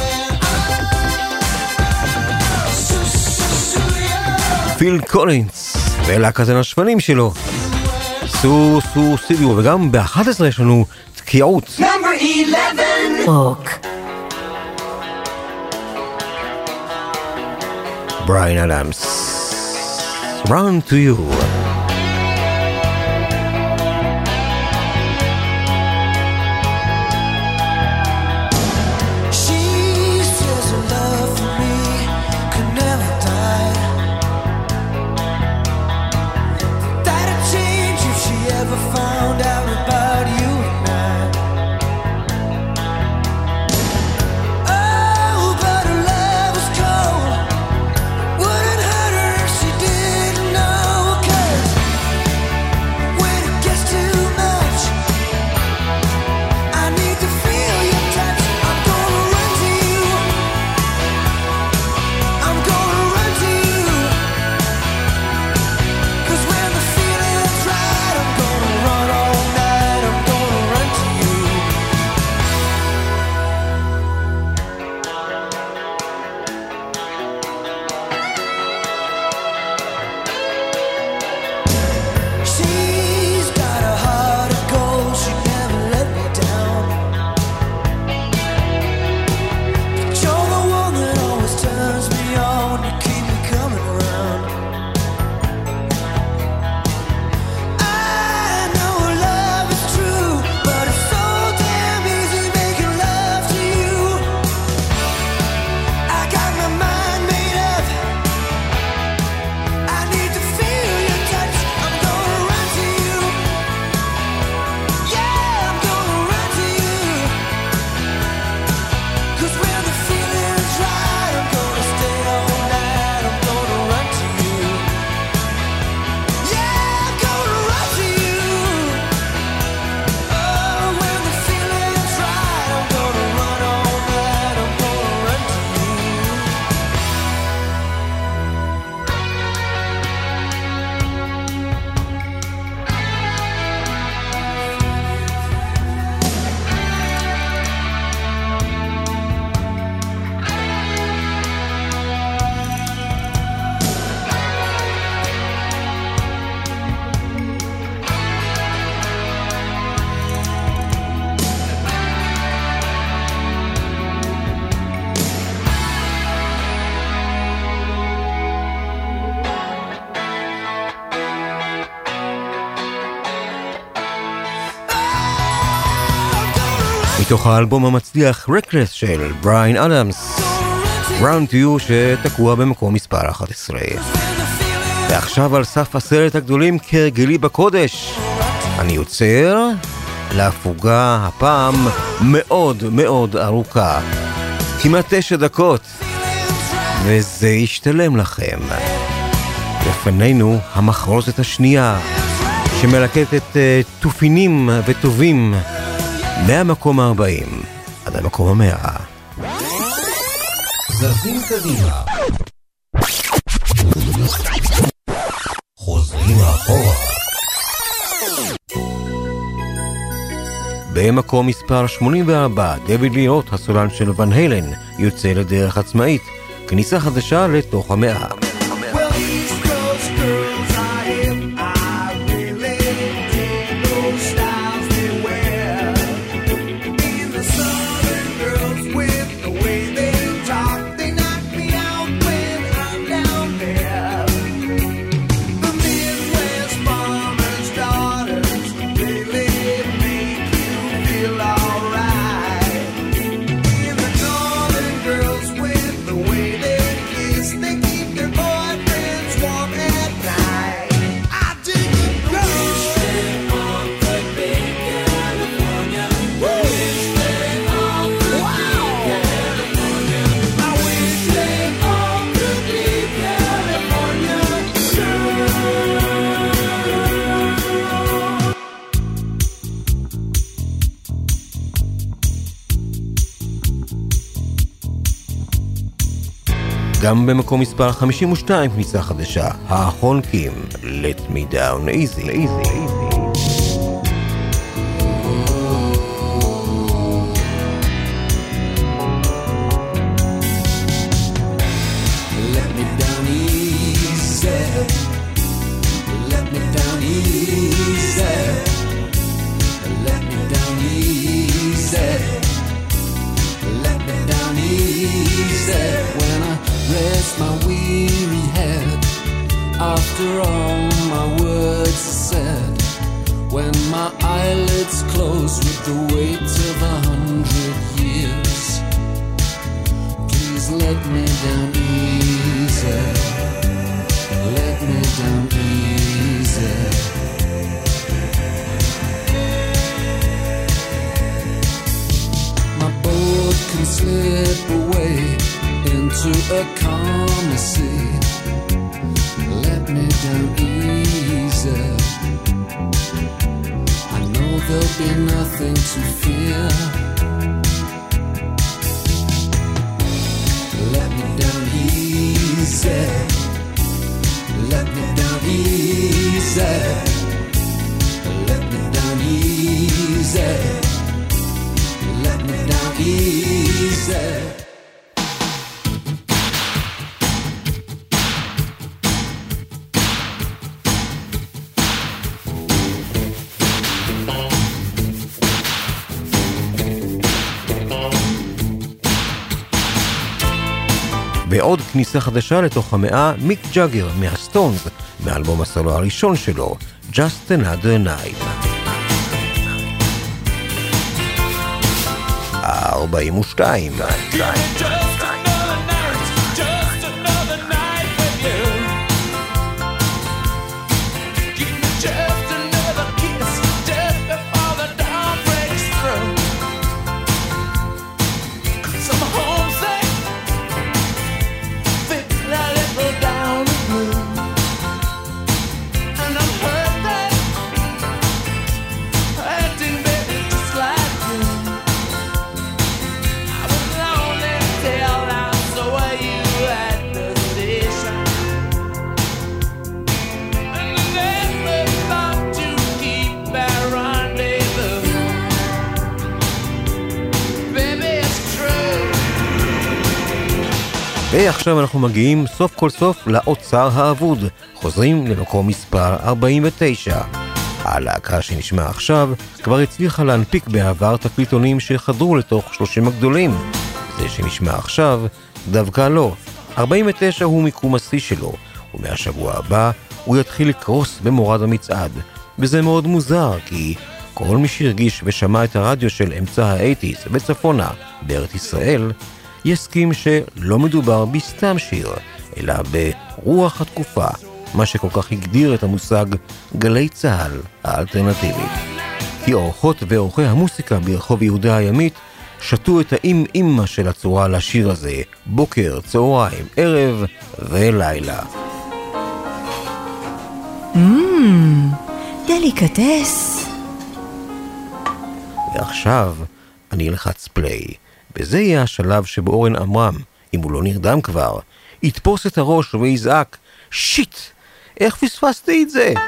פיל קולינס, ולהקת הנשפנים שלו. סו סו סידיו, וגם ב-אחת עשרה יש לנו תקיעות. רוק. בריין אדמס. Run to you. מתוך האלבום המצליח Reckless של בריין אדמס, Round to You, שתקוע במקום מספר אחת עשרה. ועכשיו על סף עשרת הגדולים כרגלי בקודש, אני יוצר להפוגה הפעם מאוד מאוד ארוכה, כמעט תשע דקות, וזה ישתלם לכם. לפנינו המחרוזת השנייה, שמלקטת uh, תופינים וטובים מהמקום ה-ארבעים עד המקום ה-מאה. זזים קדימה, חוזרים אחורה. במקום מספר שמונים וארבע, דויד לי רוט, הסולן של ון הלן, יוצא לדרך עצמאית, כניסה חדשה לתוך המאה. גם במקום מספר חמישים ושתיים, כניסה חדשה, החונקים, Let Me Down Easy. easy, easy. Let me down easy. my words are said, when my eyelids close with the weight of a hundred years. Please let me down easy, let me down easy. My boat can slip away into a calmer sea. Let me down easy. I know there'll be nothing to fear. Let me down easy. Let me down easy. Let me down easy. Let me down easy. ועוד כניסה חדשה לתוך המאה, מיק ג'אגר מהסטונס, מאלבום הסולו הראשון שלו, Just Another Night. ארבעים ושתיים. ועכשיו אנחנו מגיעים סוף כל סוף לאוצר האבוד, חוזרים למקום מספר ארבעים ותשע. הלהקה שנשמע עכשיו כבר הצליחה להנפיק בעבר תקליטונים שחדרו לתוך שלושים הגדולים. זה שנשמע עכשיו דווקא לא. ארבעים ותשע הוא מיקום השיא שלו, ומהשבוע הבא הוא יתחיל לקרוס במורד המצעד. וזה מאוד מוזר, כי כל מי שהרגיש ושמע את הרדיו של אמצע ה-שמונים בצפונה בארץ ישראל, יסכים שלא מדובר בסתם שיר, אלא ברוח התקופה, מה שכל כך הגדיר את המושג גלי צהל האלטרנטיבית. כי אורחות ואורחי המוסיקה ברחוב יהודה הימית שתו את האם-אימא של הצורה לשיר הזה, בוקר, צהריים, ערב ולילה. מmm, דליקטס. ועכשיו אני אלחץ פליי. וזה יהיה השלב שבו אורן עמרם, אם הוא לא נרדם כבר, יתפוס את הראש ויזעק, שיט, איך פספסתי את זה?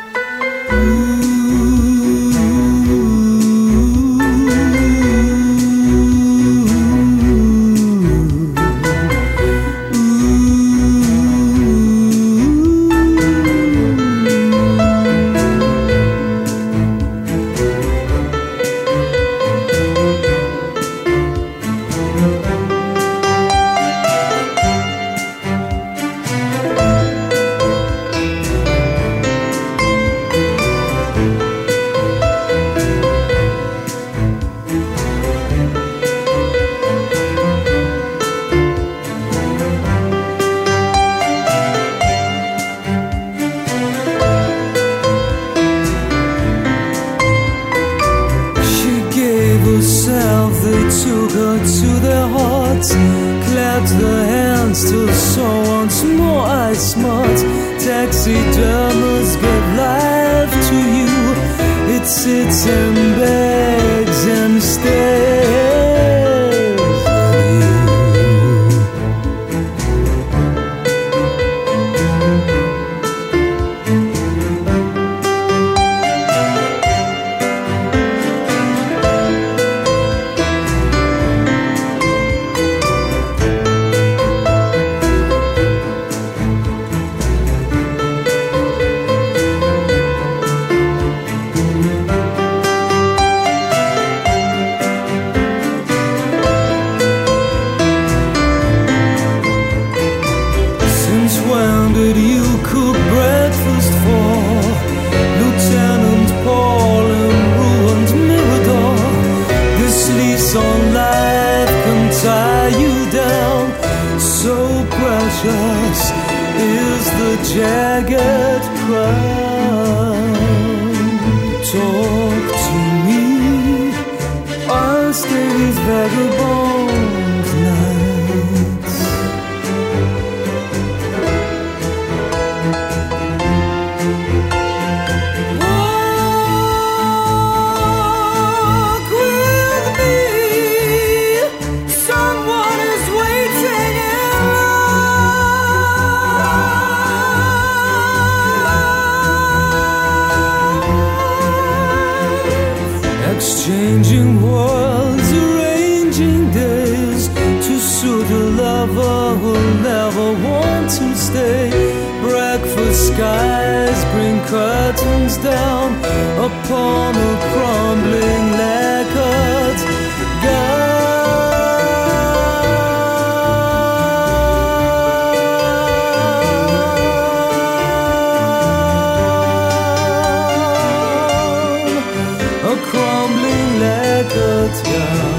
Taxidermists give life to you. It sits and begs and stares at you. skies bring curtains down upon a crumbling lacquered gown, a crumbling lacquered gown.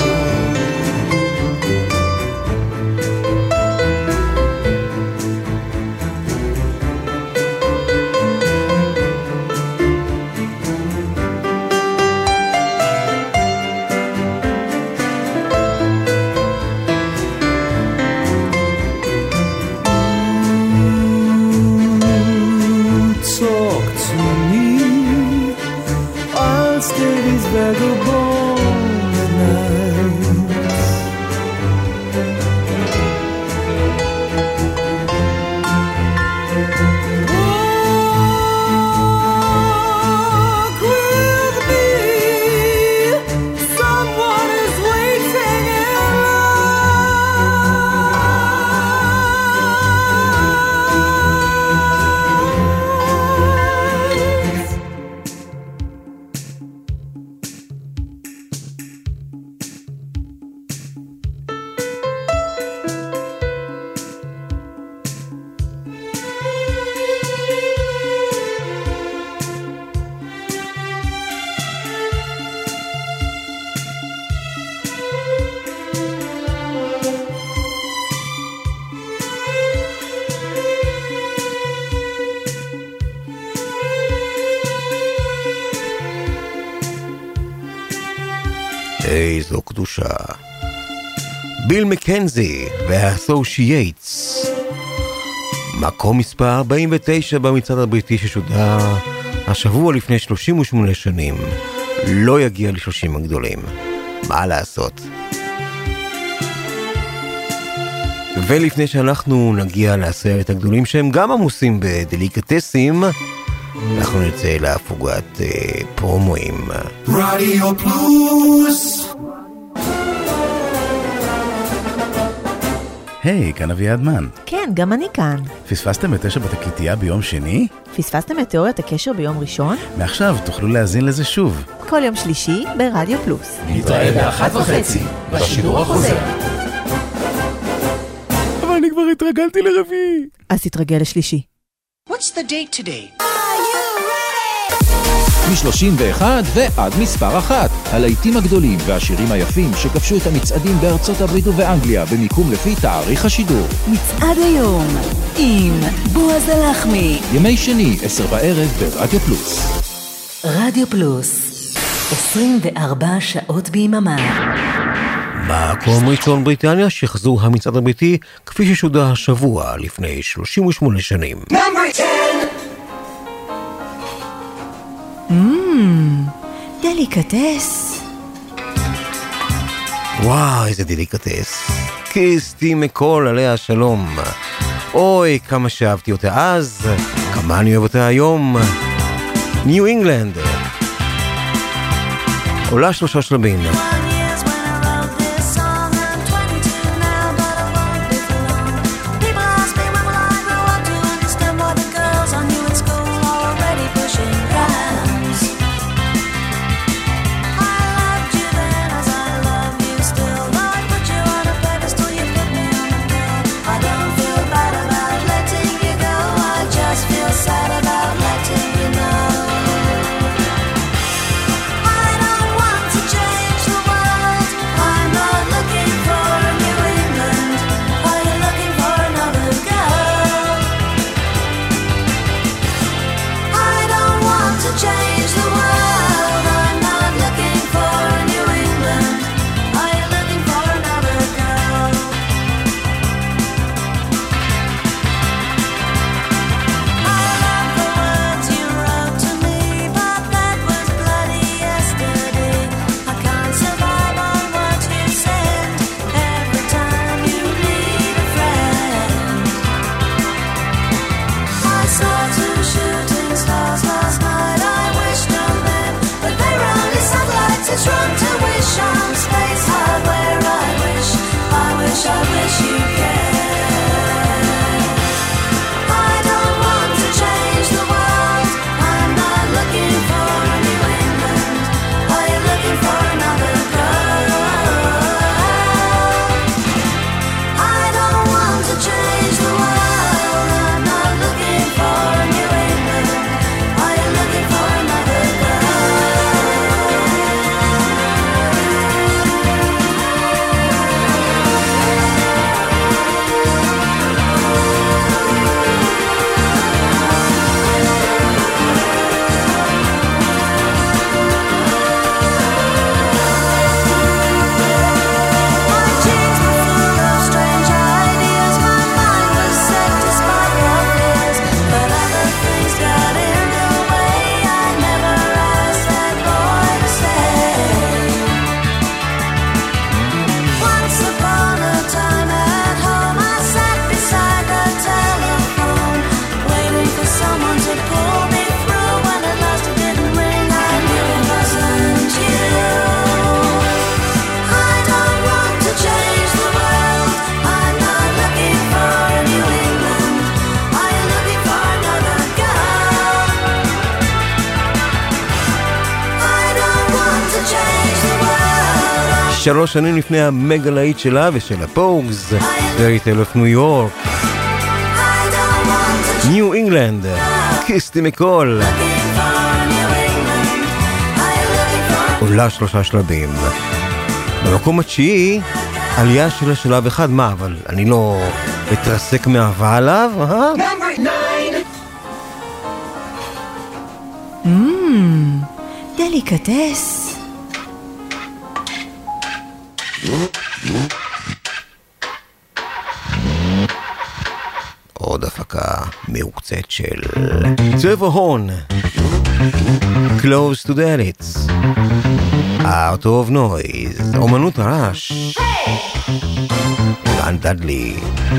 איזו קדושה. ביל מקנזי והאסושייטס. מקום מספר ארבעים ותשע במצעד הבריטי ששודר השבוע לפני שלושים ושמונה שנים. לא יגיע ל-שלושים הגדולים. מה לעשות? ולפני שאנחנו נגיע לעשרת הגדולים שהם גם עמוסים בדליקטסים, אנחנו נצא להפוגת אה, פרומואים. רדיו פלוס. היי, כאן אביעד מן. כן, גם אני כאן. פספסתם את תשע בתקליטייה ביום שני? פספסתם את תיאוריית הקשר ביום ראשון? מעכשיו תוכלו להאזין לזה שוב. כל יום שלישי ברדיו פלוס. נתראה באחת וחצי, בשידור החוזר. אבל אני כבר התרגלתי לרביעי. אז תתרגל לשלישי. What's the date today? מ-שלושים ואחת ועד מספר אחת. הלהיטים הגדולים והשירים היפים שכבשו את המצעדים בארצות הברית ובאנגליה במיקום לפי תאריך השידור. מצעד היום עם בועז הלחמי. ימי שני, עשר בערב ברדיו פלוס. רדיו פלוס, עשרים וארבע שעות ביממה. מקום ראשון בריטניה שחזור המצעד הבריטי כפי ששודר השבוע לפני שלושים ושמונה שנים. Mmm, דליקטס. וואו, איזה דליקטס. קיסטי מקול עליה שלום. אוי, כמה שאהבתי אותה אז, כמה אני אוהב אותה היום. ניו אינגלנד. עולה שלושה שלבים. I don't want to change the world. שלוש שנים לפני המגה להיט שלה ושל הפוגס, Fairy Tale of New York. ניו אינגלנד, קיסטי מקול. עולה שלושה שלבים. במקום התשיעי, עלייה של השלב אחד, מה, אבל אני לא אתרסק מאהבה עליו, אה? Mmm, דליקטס. עוד הפקה מעוקצת של צבע הון, Close to the Edits, Out of Noise, אומנות הרעש, גן דדלי.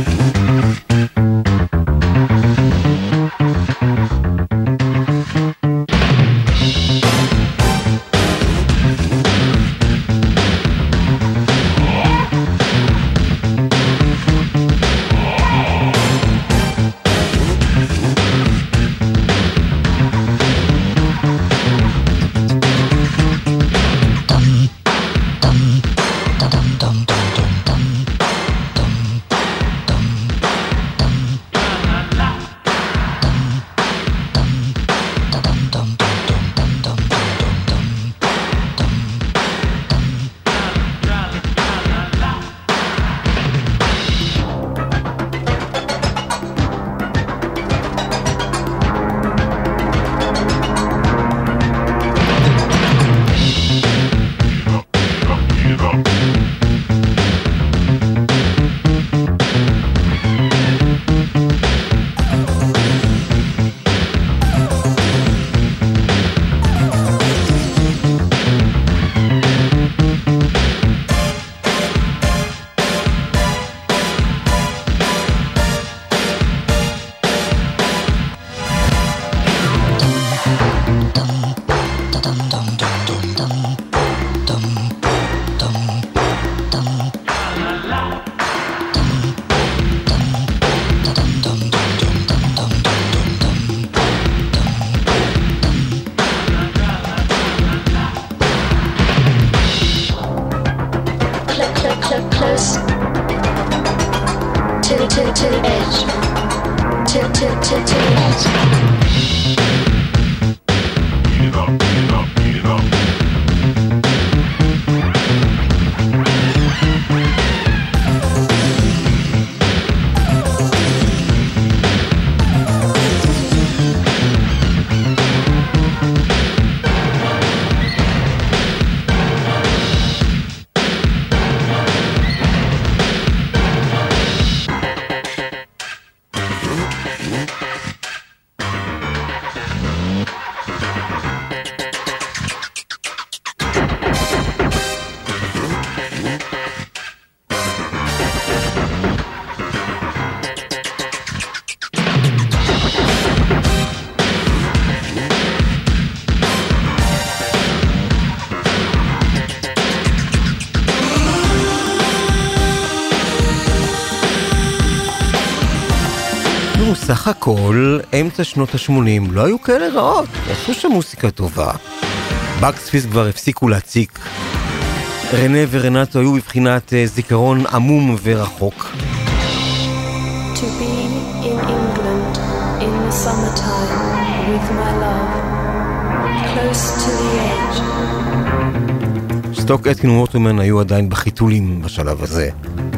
סך הכל, אמצע שנות ה-שמונים לא היו כאלה רעות, עשו שם מוסיקה טובה. בקס פיס כבר הפסיקו להציק. רנה ורנטו היו בבחינת זיכרון עמום ורחוק. To be in England in the summertime with my love, close to the edge. סטוק אטקין וווטרמן היו עדיין בחיתולים בשלב הזה.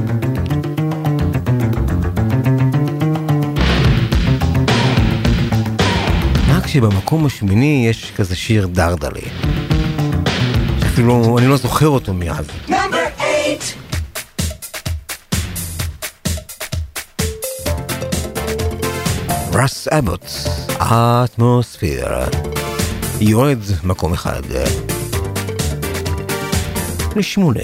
שבמקום השמיני יש כזה שיר דרדלי. אפילו אני לא זוכר אותו מאז. רס אבוט, האטמוספיר. יורד מקום אחד. לשמונה.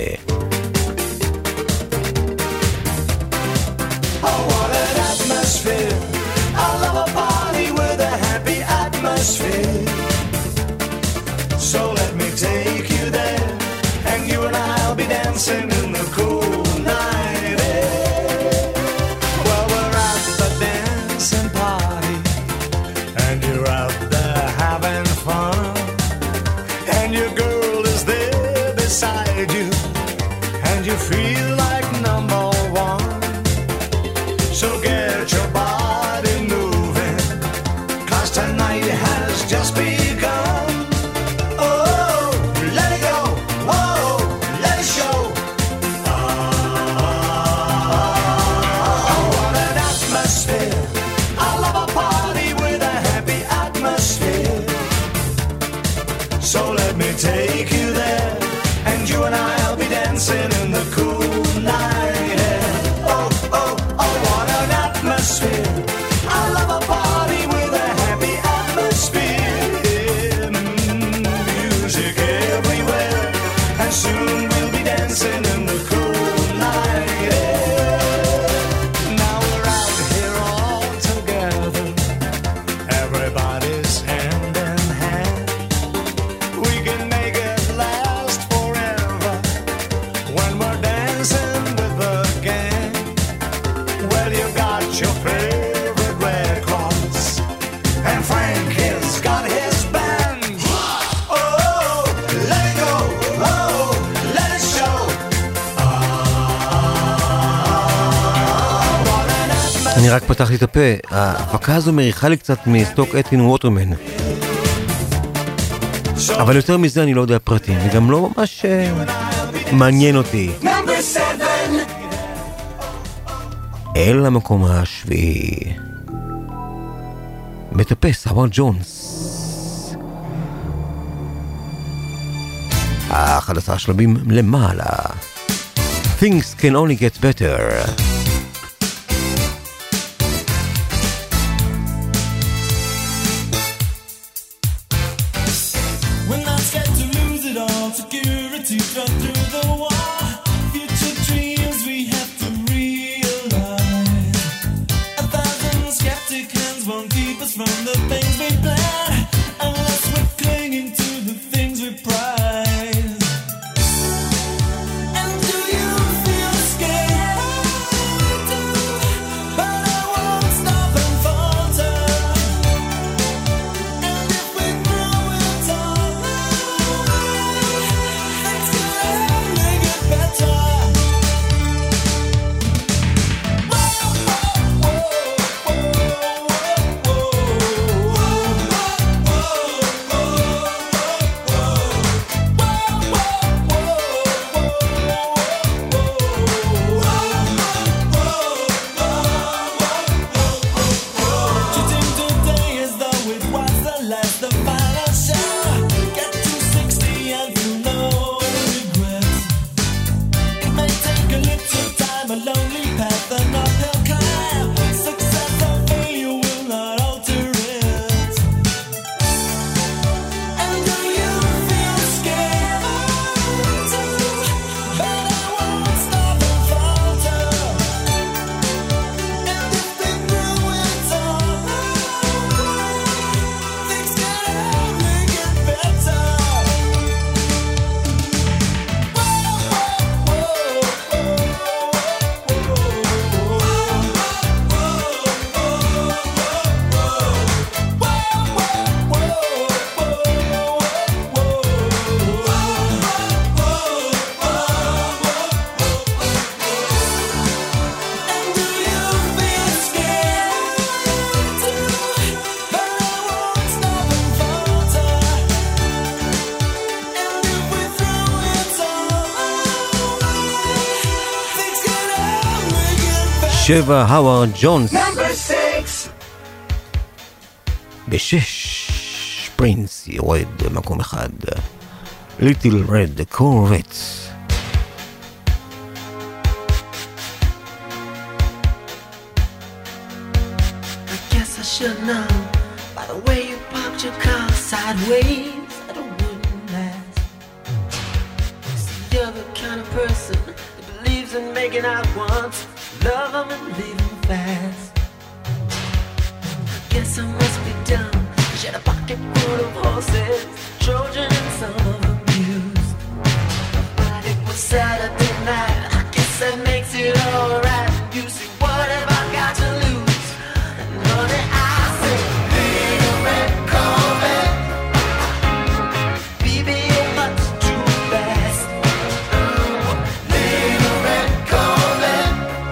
So let me take you there, and you and I'll be dancing in the cool night air. Well, we're at the dancing party, and you're out there having fun, and your girl is there beside you, So let me take you there, and you and I'll be dancing in the cool night air. Oh, oh, oh, what an atmosphere. I love a party with a happy atmosphere. Mm, music everywhere, and soon we'll be dancing in the cool night air. Now we're out here all together, everybody's hand in hand. We can make it last forever when we're dancing with the gang. Well, you got your favorite Red Cross, and Frank has got his band. Oh, let it go, oh, let it show. אני רק פתחתי את הפה, ההפקה הזו מריחה לי קצת מסטוק אתין ווטרמן. אבל יותר מזה אני לא יודע פרטים, וגם לא ממש אה, מעניין אותי. אל המקום השביעי. מטפס, הווארד ג'ונס. אחד עשר שלבים למעלה. Things can only get better. We're not scared to lose it all. Security cut through the wall. Future dreams we have to realize. A thousand skeptic hands won't keep us from the things we plan, unless we're clinging to the things we prize. And do you feel scared? But I won't stop and falter. And if we throw it all away, things can only get better. Shooting today as though it was the last, the final show. Get to sixty and feel no regrets. It may take a little time, a lonely path, an uphill climb. Success or failure will not alter it. And do you feel scared? But I won't stop and falter. And if we throw it all away, things can only get better. And do you feel scared? But I won't stop and falter. And if we throw it all away, things can only get better. שבע, הווארד ג'ונס. Number six. בשש, פרינס יורד במקום אחד. ליטל רד קורבט. I guess I should know by the way you popped your car sideways that it wouldn't last. See, you're the kind of person that believes in making out once, love them and leave them fast. I guess I must be dumb. She had a pocket full of horses, Trojan and some of them used. But it was Saturday night, I guess that makes it alright. You see, what have I got to lose? And honey, I said, little red Corvette, baby, you're much too fast. Oh, little red Corvette,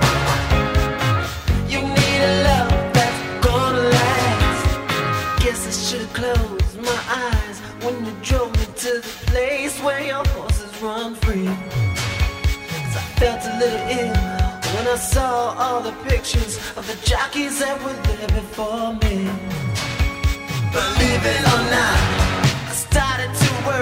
you need a love that's gonna last. Guess I should've closed my eyes when you drove me to the place where your horses run free. 'Cause I felt a little ill when I saw all the pictures of the jockeys that were there before me. Believe it or not, I started to worry.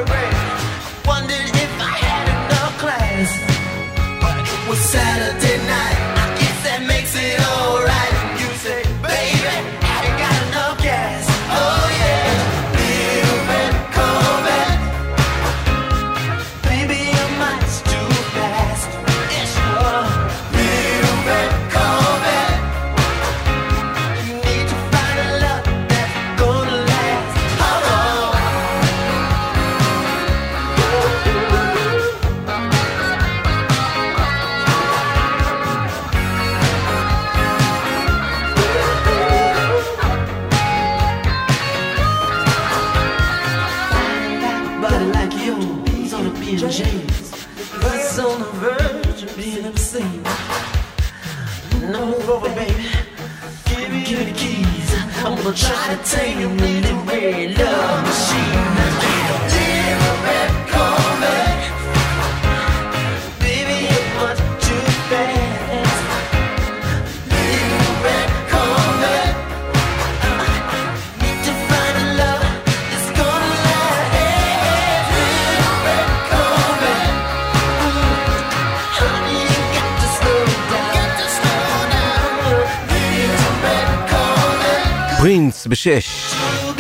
champion James was on the verge of being obscene. Now move over, baby. Give me, give me the keys. I'm gonna try to tame you in the red love machine. Little red Corvette, baby, you're much too fast. Little red Corvette, need to find a love that's gonna last. Little red Corvette, honey, you got to slow down. Got to slow down. Little red Corvette. פרינס בשש.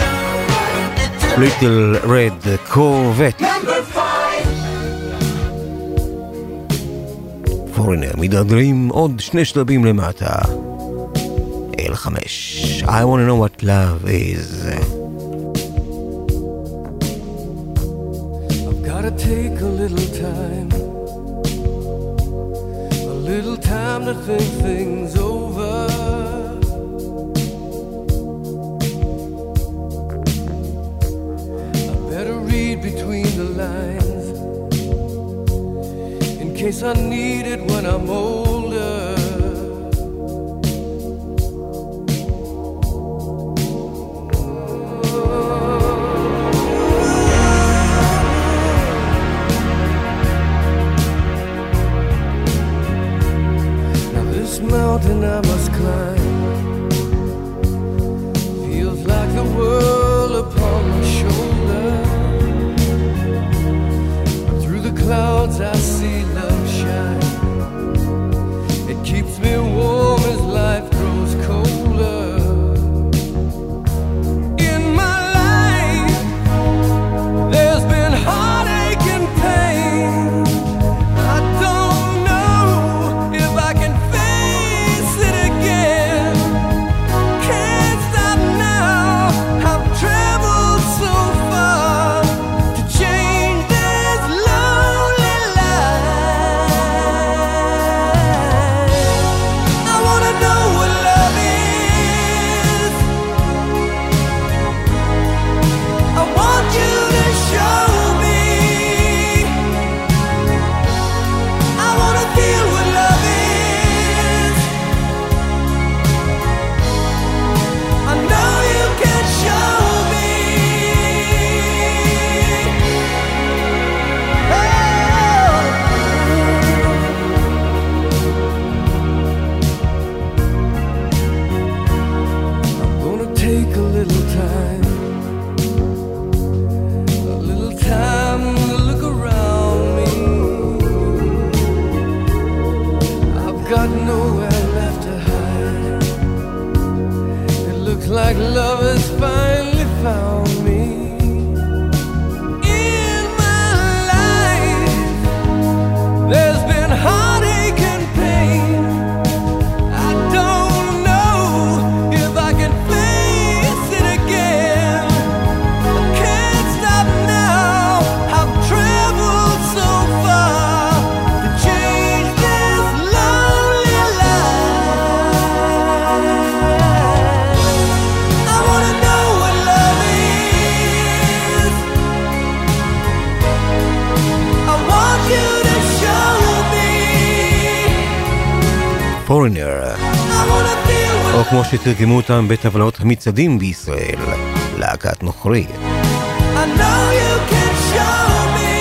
ליטל רד קורבט. פורינר מדרדרים עוד שני שלבים למטה. אל חמש. I wanna know what love is. I've gotta take a little time, a little time to think things over. I better read between the lines in case I need it when I'm older. Mountain I must climb feels like the world upon my shoulder. But through the clouds I see love shine. It keeps me warm as life grows colder. In my life there's been heartache and pain. I don't know if I can like love has finally found me. In my life there's been heartache and pain. I don't know if I can face it again. I can't stop now. I've traveled so far to change this lonely life. I wanna know what love is. I want you to show me. פורינר. או כמו שתרגמו אותם בטבלאות המצעדים בישראל, להקת נוכרי. I know you can show me.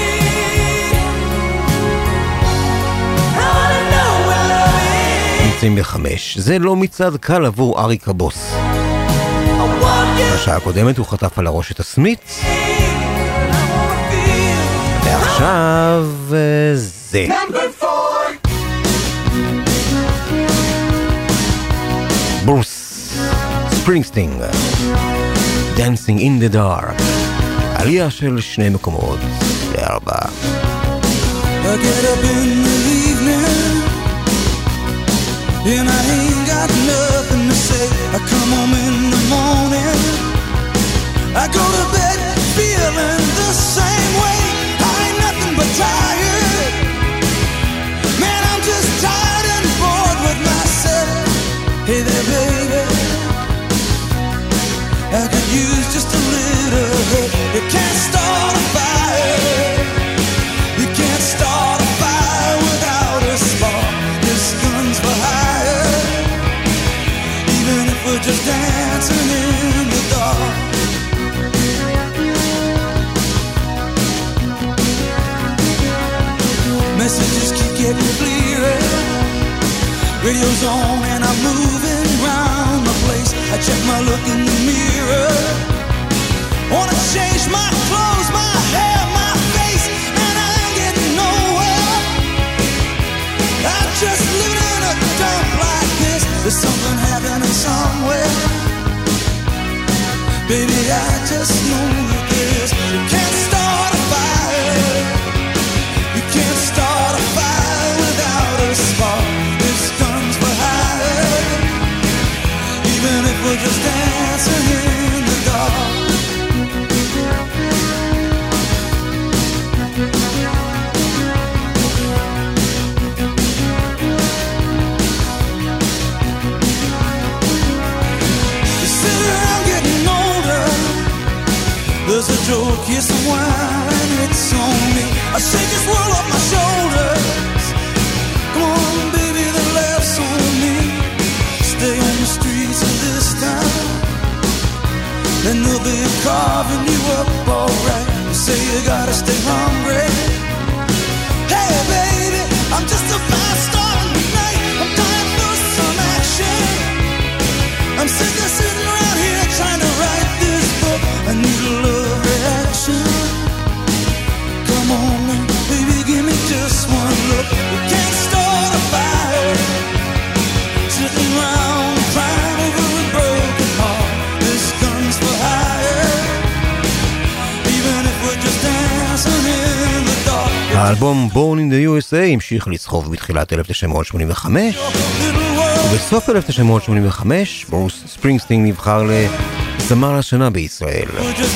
I wanna know what love is. נמצאים בחמש. זה לא מצעד קל עבור אריק הבוס. בשעה הקודמת הוא חטף על הראש את הסמיץ. ועכשיו זה. ברוס ספרינגסטינג, Dancing in the Dark. עלייה של שני מקומות לארבע. I get up in the evening and I ain't got nothing to say. I come home in the morning, I go to bed feeling the same way. I ain't nothing but tired. Man, I'm just tired and bored with myself. Hey there, baby, I could use just a little help. You can't start a fire getting clearer. Radio's on and I'm moving round the place. I check my look in the mirror. Wanna change my clothes, my hair, my face, and I ain't getting nowhere. I'm just living in a dump like this. There's something happening somewhere. Baby, I just know that this. You can't start a fire. You can't start a fire without a spark. This gun's for hire. Even if we're just dancing in the dark. There's a joke, yes, a wine, it's on me. I shake this world off my shoulders. Come on, baby, the laughs on me. Stay on the streets of this town, and they'll be carving you up alright. You say you gotta stay hungry. Hey, baby, I'm just a fast star tonight. I'm dying for some action. I'm sick of sitting around here trying to write this book. I need a love reaction. Come on now, baby, give me just one look. We can't start a fire, sitting around crying over a broken heart. This gun's for hire, even if we're just dancing in the dark. האלבום Born in the U S A המשיך לצחוב בתחילת אלף תשע מאות שמונים וחמש, ובסוף אלף תשע מאות שמונים וחמש ברוס ספרינגסטין נבחר לזמר השנה בישראל.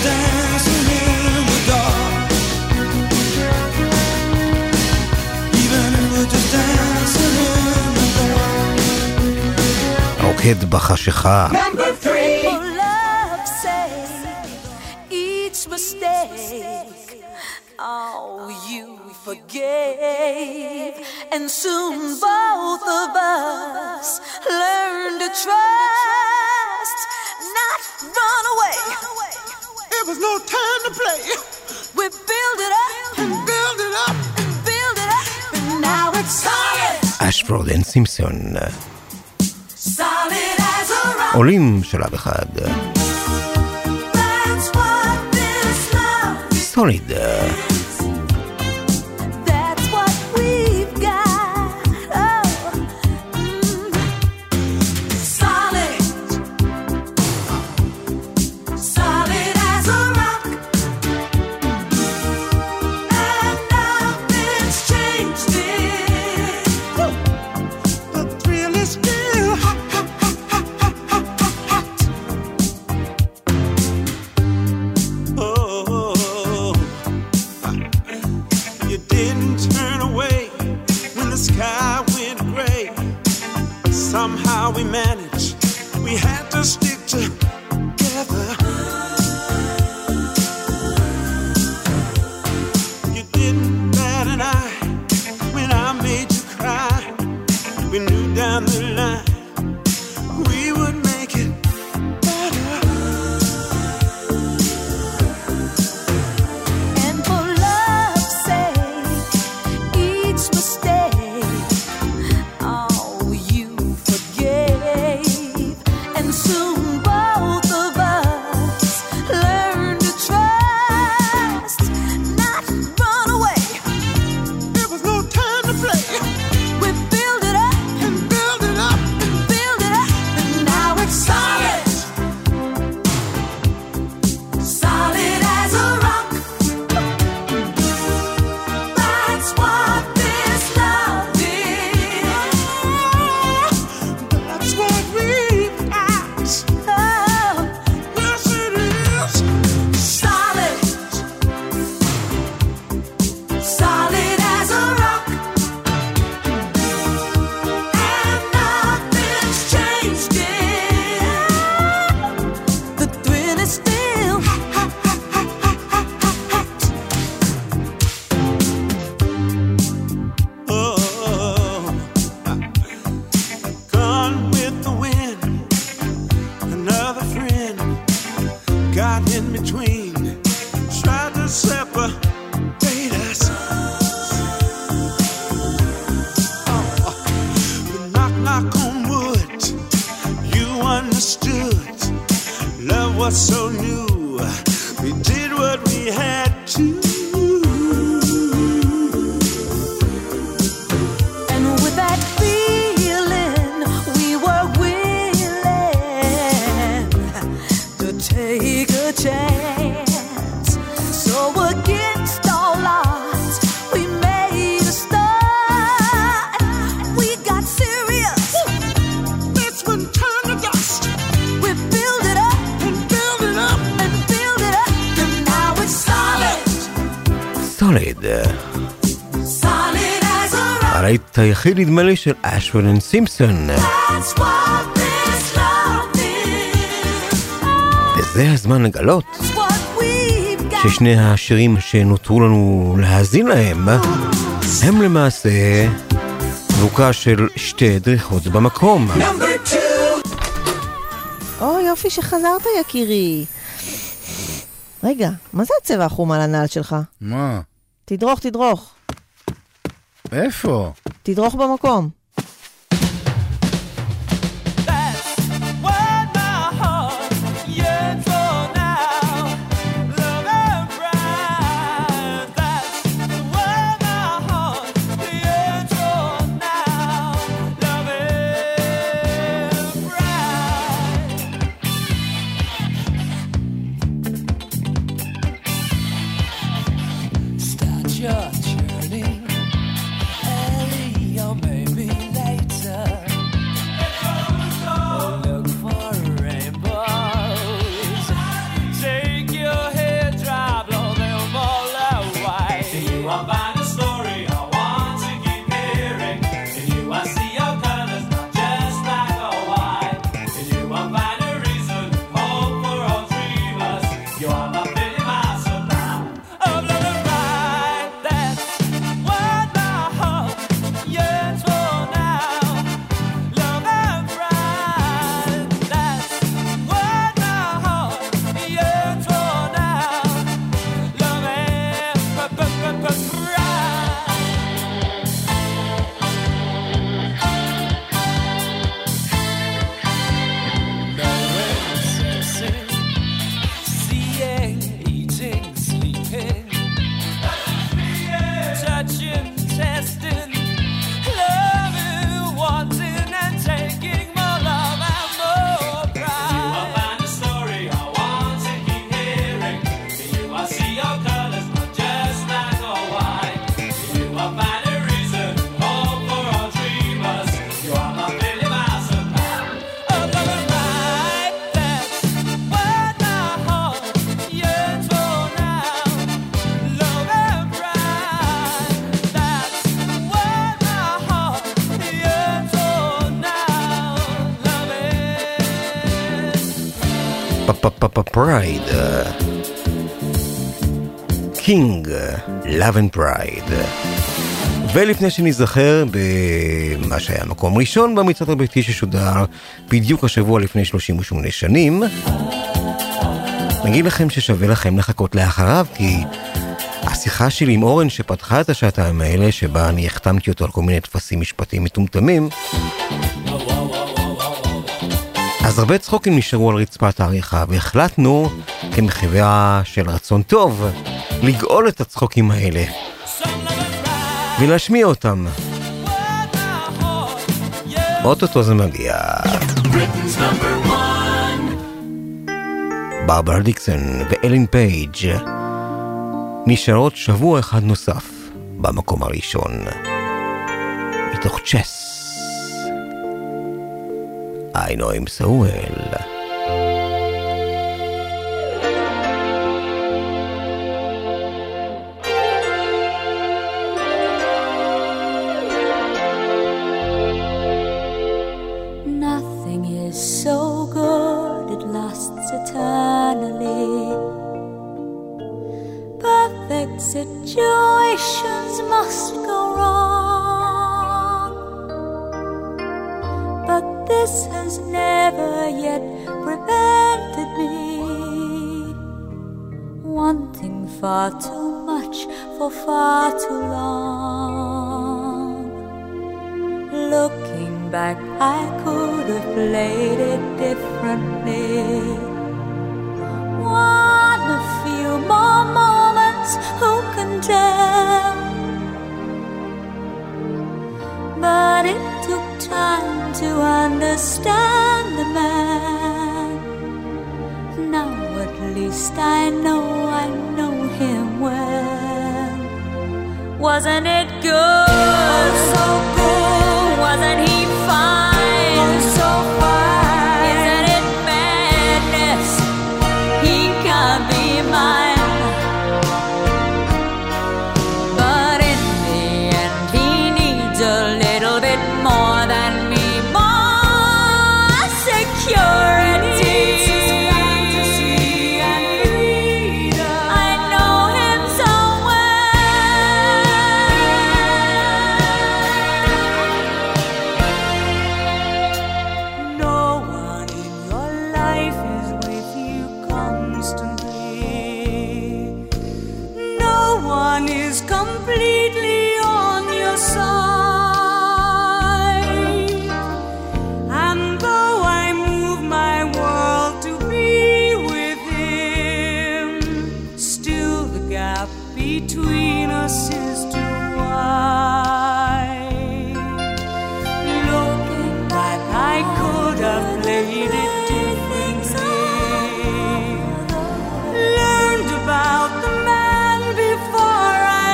הרוקד בחשיכה. Oh, you forgave, and soon both of us learn to trust, not run away. It was no time to play. We build it up and build it up and build it up, and now it's solid. אשפורד אנד סימפסון. Solid as a rock. עולים שלב אחד. That's what this love is. סוליד. Somehow we managed, we had to stick together. You didn't bat an eye when I made you cry. We knew down the line we would make it better. And for love's sake, each mistake, and soon both of us learn to trust, not run away. There was no time to play. We build it up and build it up and build it up, and now it's solid, solid as a rock. That's what this love is. That's what we סוליד. הלהיט היחיד נדמה לי של אשפורד אנד סימפסון. וזה הזמן לגלות ששני השירים שנותרו לנו להאזין להם הם למעשה זבוקה של שתי דריכות במקום. או יופי שחזרת יקירי. רגע, מה זה הצבע החום על הנעל שלך? מה? תדרוך, תדרוך. איפה? תדרוך במקום. פרייד, קינג, Love and Pride. ולפני שנזכר במה שהיה מקום ראשון במצעד הביתי ששודר בדיוק השבוע לפני שלושים ושמונה שנים, נגיד לכם ששווה לכם לחכות לאחריו, כי השיחה שלי עם אורן שפתחה את השעתיים האלה, שבה אני החתמתי אותו על כל מיני תפסים משפטיים מטומטמים, אז הרבה צחוקים נשארו על רצפת העריכה, והחלטנו, כמחווה של רצון טוב, לגאול את הצחוקים האלה ולהשמיע אותם. אוטוטו זה מגיע. ברברה דיקסון ואלין פייג' נשארות שבוע אחד נוסף במקום הראשון, מתוך צ'ס. I know him so well. Nothing is so good, it lasts eternally. Perfect situations must go wrong, but this has never yet prevented me wanting far too much for far too long. Looking back, I could have played it differently. One a few more moments, who can tell? But it took time to understand the man. Now at least I know I know him well. Wasn't it good? Oh, so good. Wasn't he fine? Oh, so fine. Isn't it madness? He can't be mine. one is completely on your side. And though I move my world to be with him, still the gap between us is too wide. Looking back, I could have played it differently, learned about the man before I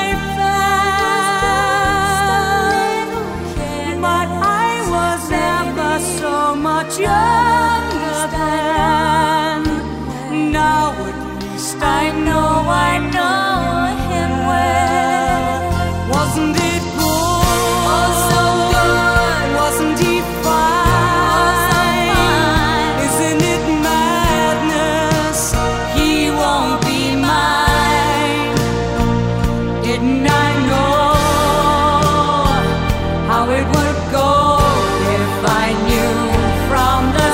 fell, but I was never so much younger then. Now at least I know I know him well. Wasn't it good? Oh, so good. Wasn't he fine? Isn't it madness? He won't be mine. Didn't I know how it would go if I knew from the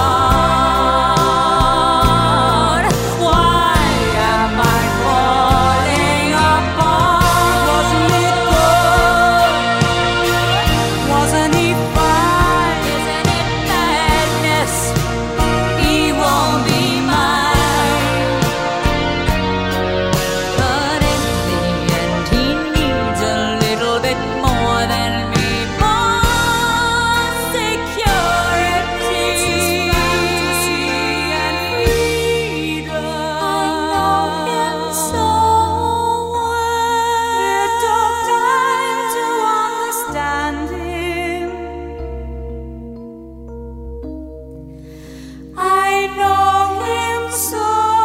start? Why am I falling apart? Wasn't it good? Wasn't he fine? Isn't it madness? He won't be mine. But in the end, he needs a little bit more than me. More security and freedom. I know him so well. It took time to understand him. I know him so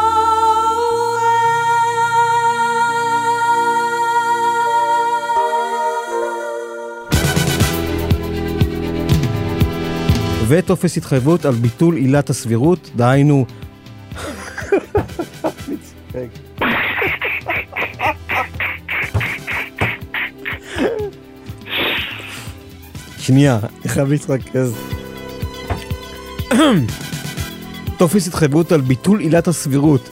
וטופס התחייבות על ביטול עילת הסבירות, דהיינו... שנייה, אני חייב להתרכז. טופס התחייבות על ביטול עילת הסבירות.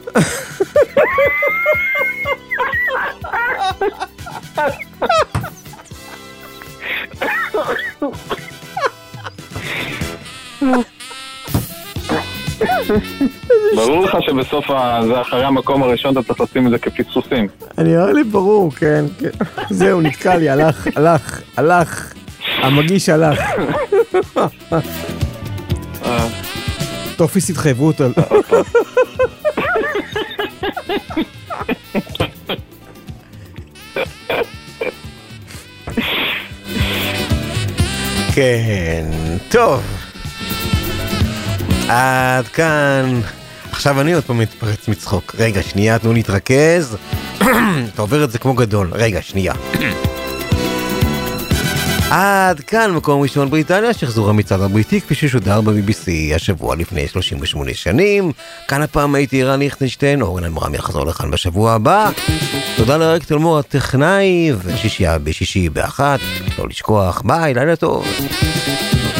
ברור לך שבסוף ה- זה אחרי המקום הראשון אתה צריך לשים את זה כפיצוצים. אני אומר לי ברור, כן, כן. זהו, נתקע לי, הלך, הלך, הלך. המגיש הלך. טופס התחייבות על... כן, טוב. עד כאן. עכשיו אני עוד פעם מתפרץ מצחוק. רגע, שנייה, תנו להתרכז. אתה עובר את זה כמו גדול. רגע, שנייה. עד כאן מקום ראשון בריטניה, שחזור המצעד הבריטי כפי ששודר ב-בי בי סי השבוע לפני שלושים ושמונה שנים. כאן הפעם הייתי רן ליכטנשטיין, אורן אלמרם יחזור לכאן בשבוע הבא. תודה לרק תלמור הטכנאי, ושישייה בשישי באחת. לא לשכוח, ביי, לילה טוב.